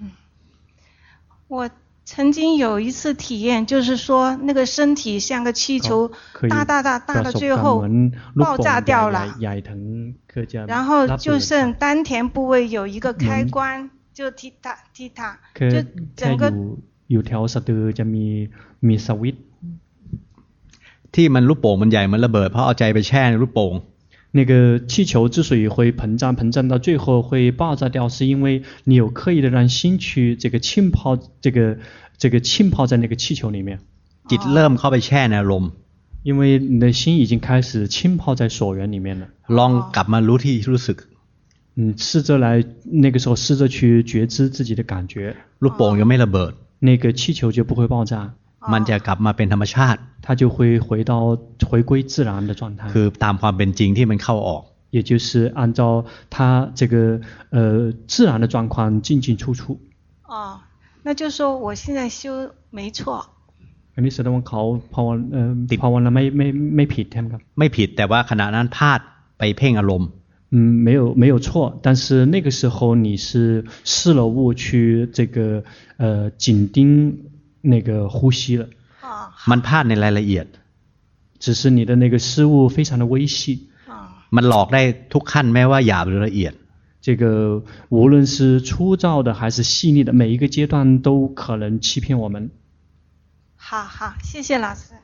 我曾經有一次體驗就是說那個身體像個氣球大大大大到最後爆炸掉了然後就剩丹田部位有一個開關就踢踏踢踏， 就整个อยู่แถวสะดือจะมีมีสวิตช์ที่มันลูกโป่งมันใหญ่มันระเบิดเพราะเอาใจไปแช่ในลูกโป่ง那个气球之所以会膨胀，膨胀到最後會爆炸掉，是因為你有刻意的讓心去這個浸泡，這個這個浸泡在那個氣球裡面。 จิตเริ่มเข้าไปแช่ในอารมณ์因為你的心已經開始浸泡在所緣裡面了。 ลองกลับมารู้ที่รู้สึก嗯，試着來那個時候試着去覺知自己的感覺。 ลูกโป่งยังไม่ระเบิด那個氣球就不會爆炸。 มันจะกลับมาเป็นธรรมชาติ它就會回到回歸自然的狀態คือตามความเป็นจริงที่มันเข้าออก也就是按照它這個呃自然的狀況進進出出哦，那就說我現在修沒錯อันนี้แสดงว่าเขาภาวนาเอ่อภาวนาไม่ไม่ไม่ผิดใช่ไหมครับไม่ผิดแต่ว่าขณะนั้นพลาดไปเพ่งอารมณ์嗯，沒有沒有錯，但是那個時候你是失了誤去這個呃緊盯那個呼吸了。 มันพลาดในรายละเอียด只是你的那個失誤非常的微細。 มันหลอกได้ทุกขั้นแม้ว่าหยาบหรือละเอียด。 這個無論是粗糙的還是細膩的，每一個階段都可能欺騙我們。 好好，謝謝老師。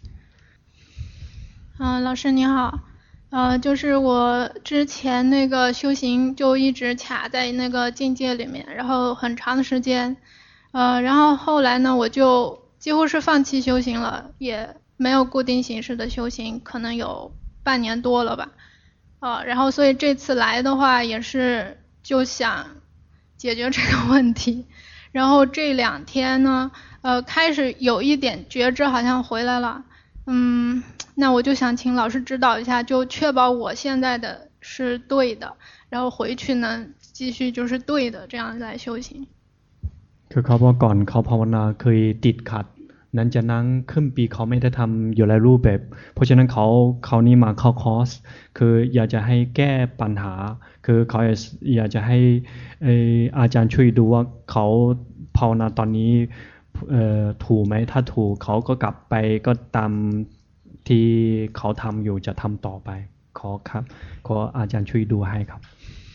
嗯、呃，老師你好。呃，就是我之前那個修行就一直卡在那個境界裡面，然後很長的時間，呃，然後後來呢，我就幾乎是放棄修行了，也沒有固定形式的修行，可能有半年多了吧，呃，然後所以這次來的話也是就想解決這個問題，然後這兩天呢，呃，開始有一點覺知好像回來了，嗯。那我就想請老師指導一下，就確保我現在的是對的，然後回去呢繼續就是對的，這樣來修行。 คือเขาบอกก่อนเขาภาวนาเคยติดขัดนั้นจะนั่งขึ้นปีเขาไม่ได้ทำอยู่หลายรูปแบบเพราะฉะนั้นเขาเขานี่มาเข้าคอร์สคืออยากจะให้แก้ปัญหาคือเขาอยากจะให้อาจารย์ช่วยดูว่าเขาภาวนาตอนนี้ถูกไหมถ้าถูกเขาก็กลับไปก็ตามที่เขาทำอยู่จะทำต่อไปขอครับขออาจารย์ช่วยดูให้ครับ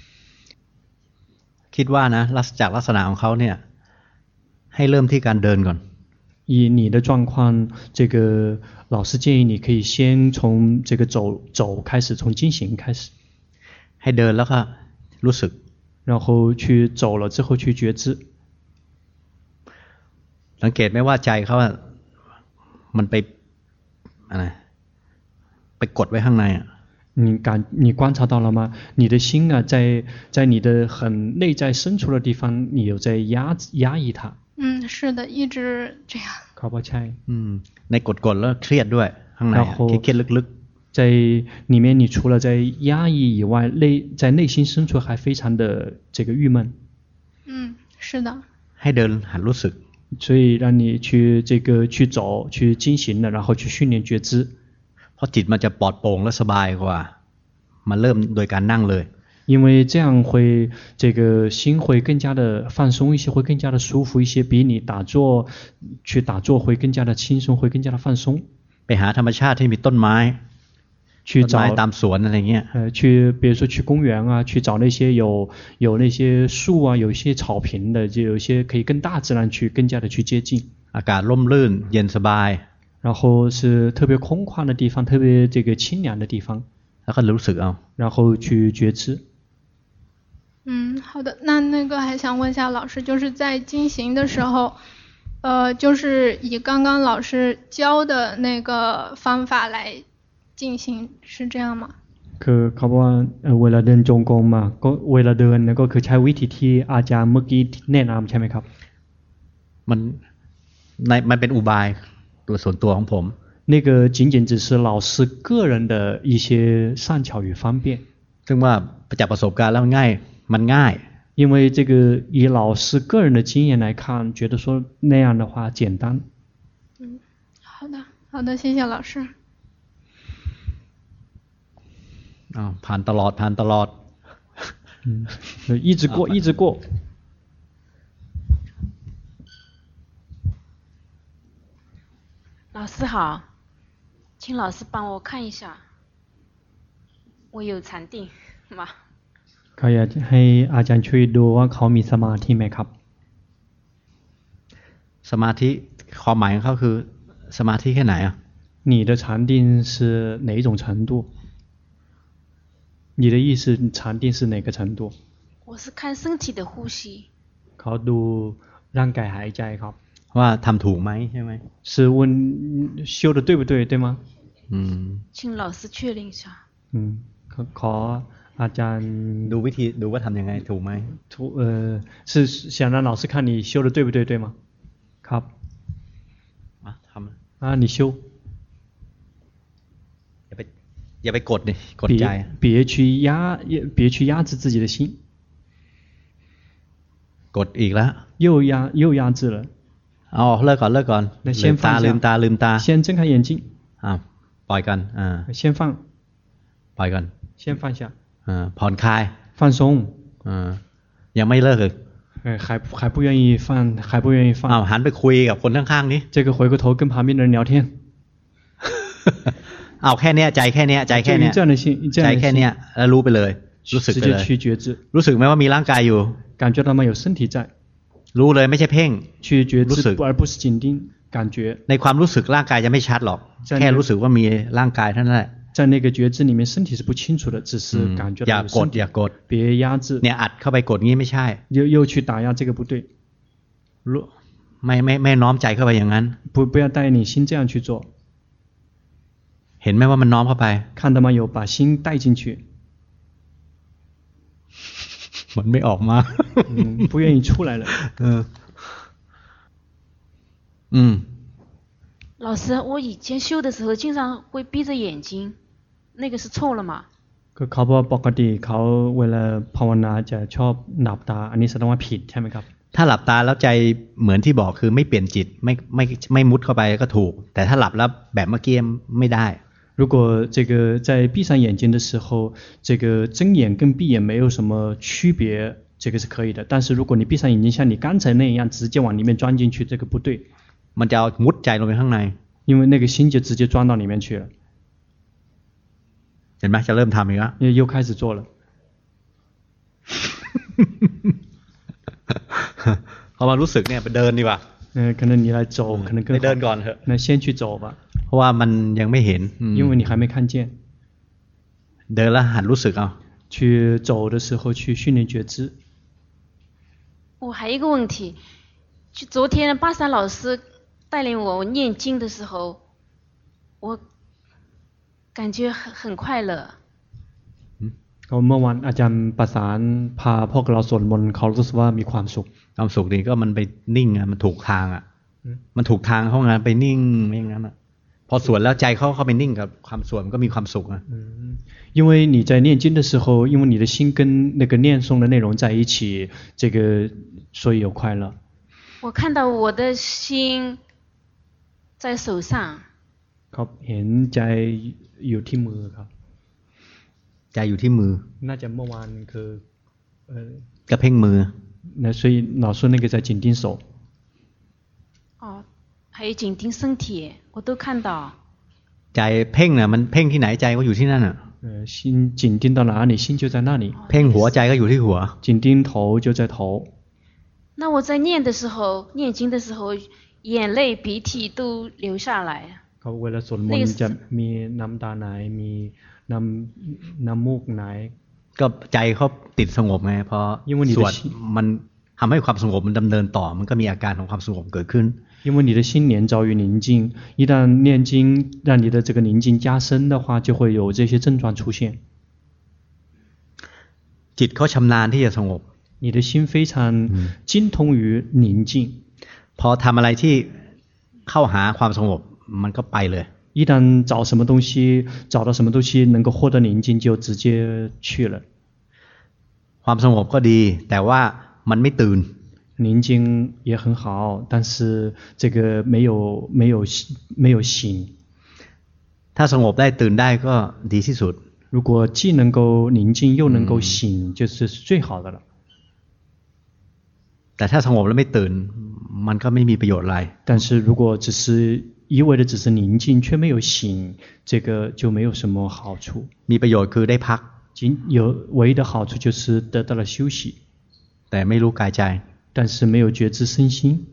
คิดว่านะจากลักษณะของเขาเนี่ยให้เริ่มที่การเดินก่อน以你的狀況這個老師建議你可以先從這個走走開始從進行開始ให้เดินแล้วก็รู้สึก然後去走了之後去覺知สังเกตไหมว่าใจเขาอะมันไปอะไรไปกดไว้ข้างในอ่ะ你感你觀察到了嗎？你的心啊，在在你的很內在深處的地方，你有在壓壓抑它。 嗯，是的，一直這樣。 เขาบอกใช่。 嗯，ในกดกดแล้วเครียดด้วยข้างในเครียดลึกๆ。在裡面，你除了在壓抑以外，內在內心深處還非常的這個鬱悶。 嗯，是的。 ให้เดินหัดรู้สึก。 所以讓你去這個去走去進行了，然後去訓練覺知。 เพราะจิตมันจะปลอดโปร่งและสบายกว่ามาเริ่มโดยการนั่งเลย因為這樣會這個心會更加的放鬆一些，會更加的舒服一些，比你打坐去打坐會更加的輕鬆，會更加的放鬆。 ไปหาธรรมชาติที่มีต้นไม้去找ตามสวนอะไรเงี้ย呃去比如說去公園啊，去找那些有有那些樹啊，有一些草坪的，就有一些可以跟大自然去更加的去接近。 อากาศร่มรื่นเย็นสบาย然後是特別空曠的地方，特別這個清涼的地方， 然後รู้สึกเอา然後去覺知。 嗯，好的。那那個還想問一下老師，就是在進行的時候，呃，就是以剛剛老師教的那個方法來進行，是這樣嗎？ คือเขาบอกว่าเวลาเดินจงกรมมาก็เวลาเดินเนี่ยก็คือใช้วิธีที่อาจารย์เมื่อกี้แนะนำใช่ไหมครับมันในมันเป็นอุบายตัวส่วนตัวของผม那個僅僅只是老師個人的一些善巧與方便ซึ่งว่าจากประสบการณ์แล้วง่ายมันง่าย因為這個以老師個人的經驗來看覺得說那樣的話簡單嗯，好的好的謝謝老師อ้าวผ่านตลอดผ่านตลอด嗯一直過一直過老師好，請老師幫我看一下，我有禪定嗎？ เขาอยากให้อาจารย์ช่วยดูว่าเขามีสมาธิไหมครับสมาธิความหมายของเขาคือสมาธิแค่ไหนอ่ะ你的禅定是哪一种程度你的意思禅定是哪个程度我是看身体的呼吸เขาดูร่างกายหายใจครับว่าทำถูกไหมใช่ไหม是问修的对不对对吗嗯请老师确认一下嗯ขออาจารย์ดูวิธีดูว่าทำยังไงถูกไหมถูกเออ是想让老师看你修的对不对对吗ครับมาทำ啊你修อย่าไปอย่าไปกดดิกดใจ别去压别去压制自己的心กดอีกแล้ว又压又压制了อ๋อเลิกก่อนเลิกก่อนลืมตาลืมตาลืมตา先睁开眼睛อ่าปล่อยกันอ่า先放ปล่อยกัน先放下อ่าผ่อนคลาย放松อ่ายังไม่เลิกเลย还还不愿意放还不愿意放อ้าวหันไปคุยกับคนข้างๆนี้这个回过头跟旁边的人聊天เอาแค่เนี้ยใจแค่เนี้ยใจแค่เนี้ยใจแค่เนี้ยแล้วรู้ไปเลยรู้สึกไปเลยรู้สึกไหมว่ามีร่างกายอยู่感觉到吗有身体在รู้เลยไม่ใช่เพ่ง去觉知而不是紧盯感觉ในความรู้สึกร่างกายจะไม่ชัดหรอกแค่รู้สึกว่ามีร่างกายเท่านั้นแหละ在那個覺知裡面身體是不清楚的只是感覺到อย่ากดอย่ากด別壓制เนี่ยอัดเข้าไปกดงี้ไม่ใช่又又去打壓這個不對ไม่ไม่ไม่น้อมใจเข้าไปอย่างนั้น不不要帶你心這樣去做เห็นไหมว่ามันน้อมเข้าไป看到嗎有把心帶進去มันไม่ออกมา不願意出來了嗯嗯老師我以前修的時候經常會閉着眼睛那個是錯了嗎ก็เขาบอกปกติเขาเวลาภาวนาจะชอบหลับตาอันนี้แสดงว่าผิดใช่ไหมครับถ้าหลับตาแล้วใจเหมือนที่บอกคือไม่เปลี่ยนจิตไม่ไม่ไม่มุดเข้าไปก็ถูกแต่ถ้าหลับแล้วแบบเมื่อกี้ไม่ได้如果这个在閉上眼睛的時候這個睜眼跟閉眼沒有什麼區別這個是可以的但是如果你閉上眼睛像你剛才那樣直接往裡面鑽進去這個不對มันจะเอามุดใจลงไปข้างใน因為那個心就直接鑽到裡面去了เห็นไหมจะเริ่มทำอีกแล้ว又開始做了พอมารู้สึกเนี่ยไปเดินดีกว่า呃可能你来走可能更好ไปเดินก่อนเถอะ那先去走吧เพราะว่ามันยังไม่เห็น因为你还没看見เดินแล้วหัดรู้สึกเอา去走的時候去訓練覺知我還有一個問題就昨天巴山老師帶領我念經的時候我感覺很很快樂ก็เมื่อวันอาจารย์ประสานพาพวกเราสวดมนต์เขารู้สึกว่ามีความสุขความสุขนี่ก็มันไปนิ่งอ่ะมันถูกทางอ่ะมันถูกทางเขาไงไปนิ่งอย่างนั้นอ่ะพอสวดแล้วใจเขาเข้าไปนิ่งกับความสวดมันก็มีความสุขอ่ะ因為你在念經的時候因為你的心跟那個念誦的內容在一起這個所以有快樂我看到我的心在手上ครับเห็นใจอยู่ที่มือครับใจอยู่ที่มือน่าจะเมื่อวานคือกระเพ่งมือ那所以老師那個在緊盯手哦還有緊盯身體我都看到ใจเพ่งน่ะมันเพ่งที่ไหนใจก็อยู่ที่นั่นน่ะ呃心緊盯到哪裡心就在那裡เพ่งหัวใจก็อยู่ที่หัว緊盯頭就在頭那我在念的時候念經的時候眼淚鼻涕都流下來เขาเวลาสวดมนต์จะมีน้ำตาไหลมีน้ำน้ำมูกไหลก็ใจเขาติดสงบไงพอสวดมันทำให้ความสงบมันดำเนินต่อมันก็มีอาการของความสงบเกิดขึ้น因为你的心念着於寧靜一旦念經讓你的這個寧靜加深的話就會有這些症狀出現จิตเขาชำนาญที่จะสงบ你的心非常精通於寧靜พอทำอะไรที่เข้าหาความสงบมันก็ไปเลย一旦找什麼東西找到什麼東西能夠獲得寧靜就直接去了ความสงบก็ดีแต่ว่ามันไม่ตื่น寧靜也很好但是這個沒有沒有沒有醒ถ้าสงบได้ตื่นได้ก็ดีที่สุด如果既能夠寧靜又能夠醒就是最好的了แต่ถ้าสงบแล้วไม่ตื่นมันก็ไม่มีประโยชน์อะไร但是如果只是一味的只是寧靜卻沒有醒這個就沒有什麼好處มีประโยชน์คือได้พัก僅有唯一的好處就是得到了休息， 但ไม่รู้กายใจ但是沒有覺知身心。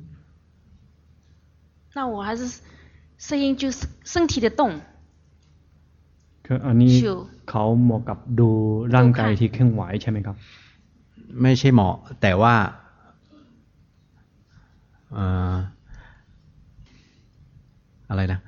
那我還是適應就是身體的動。 คืออันนี้เขาเหมาะกับดูร่างกายที่เคลื่อนไหวใช่ไหมครับไม่ใช่เหมาะแต่ว่าเอ่ออะไรนะ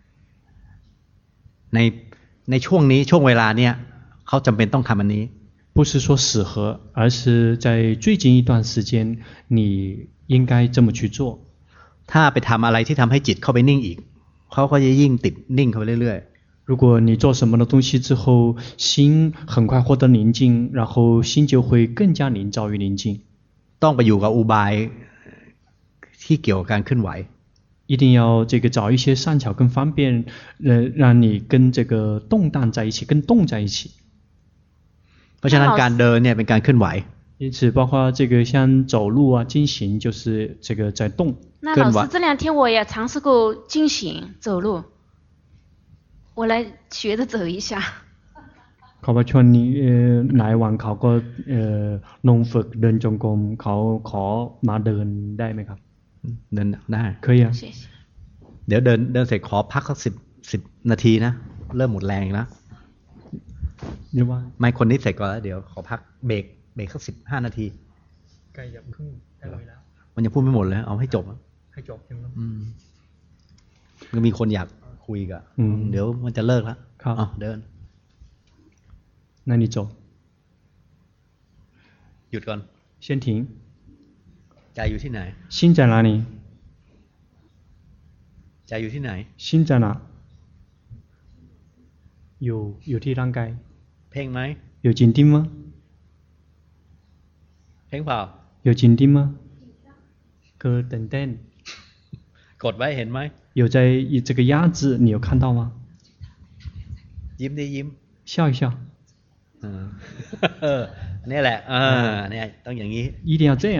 ในในช่วงนี้ช่วงเวลาเนี้ยเขาจำเป็นต้องทำอันนี้不是說適合而是在最近一段時間你應該這麼去做ถ้าไปทำอะไรที่ทำให้จิตเข้าไปนิ่งอีกเขาก็จะยิ่งติดนิ่งเข้าไปเรื่อยๆ如果你做什麼的東西之後心很快獲得寧靜然後心就會更加營造於寧靜ต้องไปอยู่กับอุบายที่เกี่ยวกับการเคลื่อนไหว一定要這個找一些善巧跟方便呃讓你跟這個動盪在一起跟動在一起เพราะฉะนั้นการเดินเนี่ยเป็นการเคลื่อนไหว因此包括這個像走路啊經行就是這個在動那老師這兩天我也嘗試過經行走路我來學着走一下เขาว่าช่วงนี้หลายวันเขาก็ลงฝึกเดินจงกรมเขาขอมาเดินได้ไหมครับเดินได้可以啊เดี๋ยวเดินเดินเสร็จขอพักสักสิบสิบนาทีนะเริ่มหมดแรงแล้วไม่คนนี้เสร็จก่อนแล้วเดี๋ยวขอพักเบรกเบรกสักสิบห้านาทีใกล้จะครึ่งได้แล้วมันยังพูดไม่หมดเลยเอาให้จบให้จบใช่ไหมมันมีคนอยากคุยกันเดี๋ยวมันจะเลิกแล้วอ๋อเดิน那你走หยุดก่อน先停ใจอยู่ที่ไหน心在哪裡ใจอยู่ที่ไหน心在哪อยู่อยู่ที่ร่างกายเพ่งไหม有緊盯嗎เพ่งเปล่า有緊盯嗎ก็ตื่นเต้นกดไว้เห็นไหม有在這個壓制你有看到嗎ยิ้มได้ยิ้ม笑一笑เออนี่แหละเออเนี่ยต้องอย่างนี้一定要這樣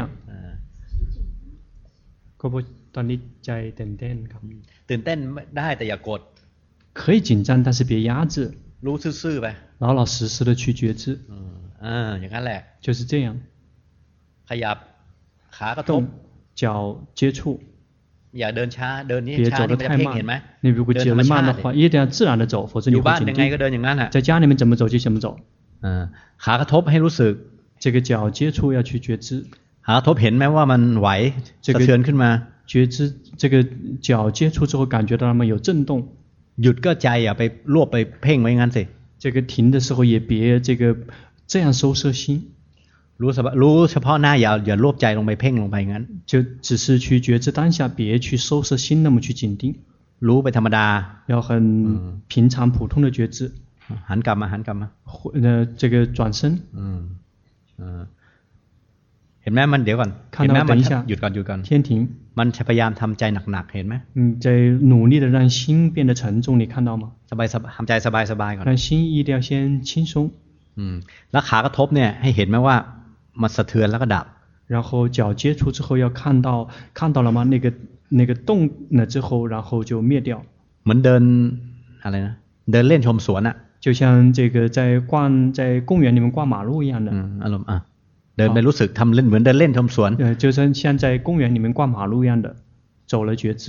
ก็เพราะตอนนี้ใจตื่นเต้นครับตื่นเต้นได้แต่อย่ากด可以緊張但是別壓制รู้ซื่อๆไป老老實實的去覺知เอออย่างนั้นแหละ就是這樣ขยับขากระทบ腳接觸อย่าเดินช้าเดินนี่ช้านี่มันจะเพ่งเห็นไหม你如果走得慢的話一定要自然的走否則你會緊張在家裡面怎麼走就怎麼走ขากระทบให้รู้สึก這個腳接觸要去覺知ขากระทบเห็นไหมว่ามันไหวสะเทือนขึ้นมา覺知這個腳接觸之後感覺到它們有震動หยุดก็ใจอย่าไปรวบไปเพ่งไว้งั้นสิ這個停的時候也別這個這樣收攝心รู้รู้เฉพาะหน้าอย่าอย่ารวบใจลงไปเพ่งลงไปงั้น就只是去覺知當下別去收攝心那麼去緊盯รู้ไปธรรมดา要很平常普通的覺知หันกลับมาหันกลับมา呃這個轉身อืมอ่าเห็นไหมมันเดี๋ยวก่อนเห็นไหมมันหยุดก่อนหยุดก่อน天停มันพยายามทำใจหนักๆเห็นไหม嗯在努力的讓心變得沉重你看到嗎สบายๆทำใจสบายๆก่อน讓心一定要先輕鬆อืมแล้วขากระทบเนี่ยให้เห็นไหมว่ามันสะเทือนแล้วก็ดับ然後腳接觸之後要看到看到了嗎那個那個動了之後然後就滅掉เหมือนเดินอะไรนะเดินเล่นชมสวนอ่ะ就像這個在逛在公園裡面逛馬路一樣的อารมณ์อ่ะเดินไปรู้สึกทำเล่นเหมือนเดินเล่นชมสวน呃就像像在公園裡面逛馬路一樣的走了覺知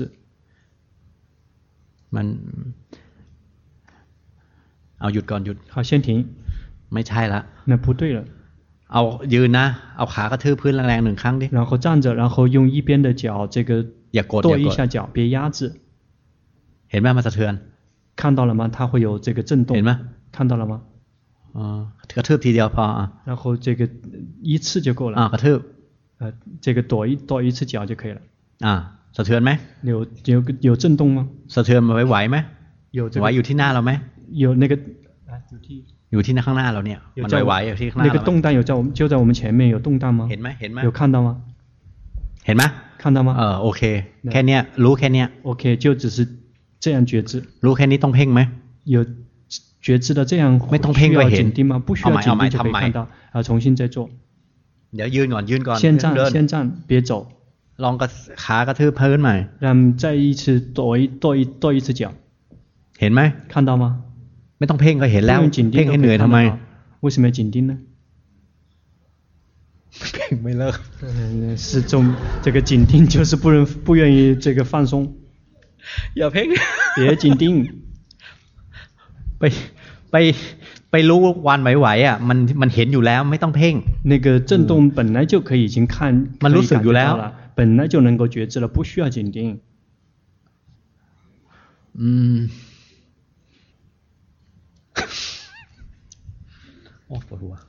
มันเอาหยุดก่อนหยุด好先停ไม่ใช่ละ那不對了เอายืนนะเอาขากระทืบพื้นแรงๆหนึ่งครั้งดิ然后站着然後用一邊的腳這個อย่ากด跺一下腳別壓制เห็นไหมมันสะเทือน看到了嗎它會有這個震動เห็นไหม看到了嗎อ๋อกระทืบทีเดียวพออ่ะ然後這個一次就夠了อ่ากระทืบ呃這個跺一跺一次腳就可以了อ่าสะเทือนไหม有有有震動嗎สะเทือนไหวๆไหม有這個ไหวอยู่ที่หน้าเราไหม有那個อยู่ที่อยู่ที่ข้างหน้าเราเนี่ยมันไหวๆอยู่ที่ข้างหน้า那個動盪有在我們就在我們前面有動盪嗎เห็นไหมเห็นไหม有看到嗎เห็นไหม看到嗎เออโอเคแค่เนี้ยรู้แค่เนี้ยโอเค就只是這樣覺知รู้แค่นี้ต้องเพ่งไหม有覺知的這樣ไม่ต้องเพ่งก็เห็น緊盯嗎不需要緊盯就可以看到啊重新再做เดี๋ยวยืนก่อนยืนก่อน先站先站別走ลองกระขากระทืบพื้นใหม่讓再一次跺一跺一跺一次腳เห็นไหม看到嗎ไม่ต้องเพ่งก็เห็นแล้วเพ่งให้เหนื่อยทำไม為为什么要紧盯呢？ เพ่งไม่เลิก。 嗯，是中这个紧盯就是不能不愿意这个放松。 อย่าเพ่ง。 別緊盯。 ไปไปไปรู้วันไหวๆอ่ะมันมันเห็นอยู่แล้วไม่ต้องเพ่ง。 那個震動本來就可以已經看， มันรู้สึกอยู่แล้ว。 本來就能夠覺知了，不需要緊盯。 嗯。โอ้ปวดหัว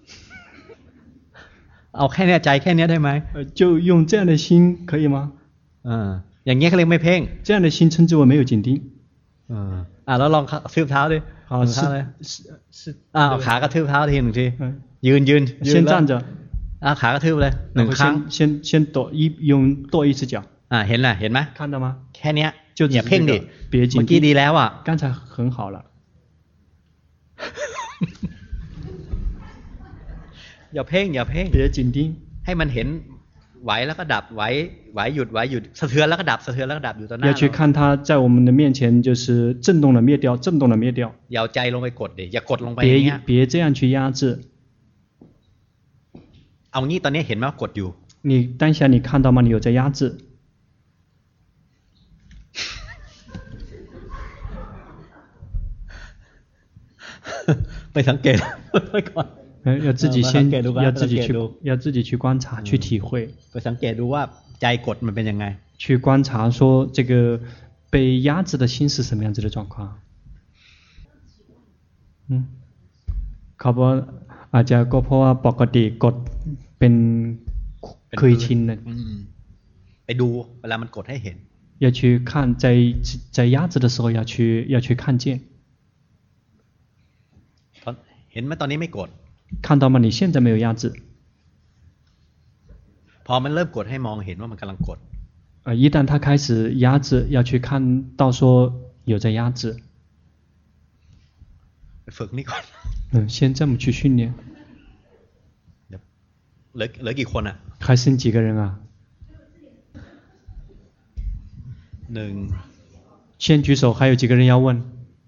เอาแค่นี้ใจแค่นี้ได้ไหม就用這樣的心可以嗎？ 嗯，อย่างนี้เขาเรียกไม่เพ่ง這樣的心稱之為沒有緊盯。 嗯，อ่ะแล้วลองทืบเท้าดิ好是是อ่ะขากระทืบเท้าทีหนึ่งทียืนยืน先站着อ่ะขากระทืบเลยหนึ่งครั้ง先先跺一用跺一只腳อ่ะเห็นแหละเห็นไหม看到嗎แค่นี้อย่าเพ่งดิเมื่อกี้ดีแล้วอ่ะ剛才很好了อย่าเพ่งอย่าเพ่ง別緊盯ให้มันเห็นไหวแล้วก็ดับไหวไหวหยุดไหวหยุดสะเทือนแล้วก็ดับสะเทือนแล้วก็ดับอยู่ต่อหน้า要去看它在我們的面前就是震動了滅掉震動了滅掉อย่าเอาใจลงไปกดดิอย่ากดลงไปอย่างเงี้ย別別這樣去壓制เอางี้ตอนนี้เห็นไหมว่ากดอยู่你當下你看到嗎你有在壓制ไปสังเกตไปก่อน要自己先要自己去要自己去觀察去體會ไปสังเกตดูว่าใจกดมันเป็นยังไง去觀察說這個被壓制的心是什麼樣子的狀況อืมเขาบอกอาจจะก็เพราะว่าปกติกดเป็นเคยชินนะไปดูเวลามันกดให้เห็น要去看在在壓制的時候要去要去看見เห็นไหมตอนนี้ไม่กด看到嗎你現在沒有壓制พอมันเริ่มกดให้มองเห็นว่ามันกำลังกด一旦它開始壓制要去看到說有在壓制ฝึกนี่ก่อน嗯先這麼去訓練เหลือเหลือกี่คนอ่ะ還剩幾個人啊หนึ่ง先舉手還有幾個人要問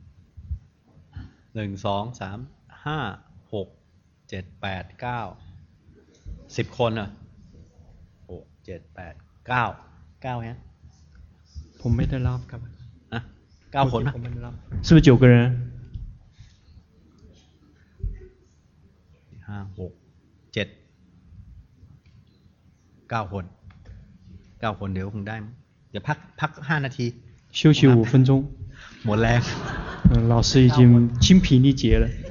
หนึ่งสองสามห้าหกเจ็ดแปดเก้าสิบคนอ่ะหกเจ็ดแปดเก้าเก้าฮะผมไม่ได้รับครับอ่ะเก้าคนนะ是不是九個人ห้าหกเจ็ดเก้าคนเก้าคนเดี๋ยวคงได้เดี๋ยวพักพักห้านาที休息五分鐘หมดแรง老師已經精疲力竭了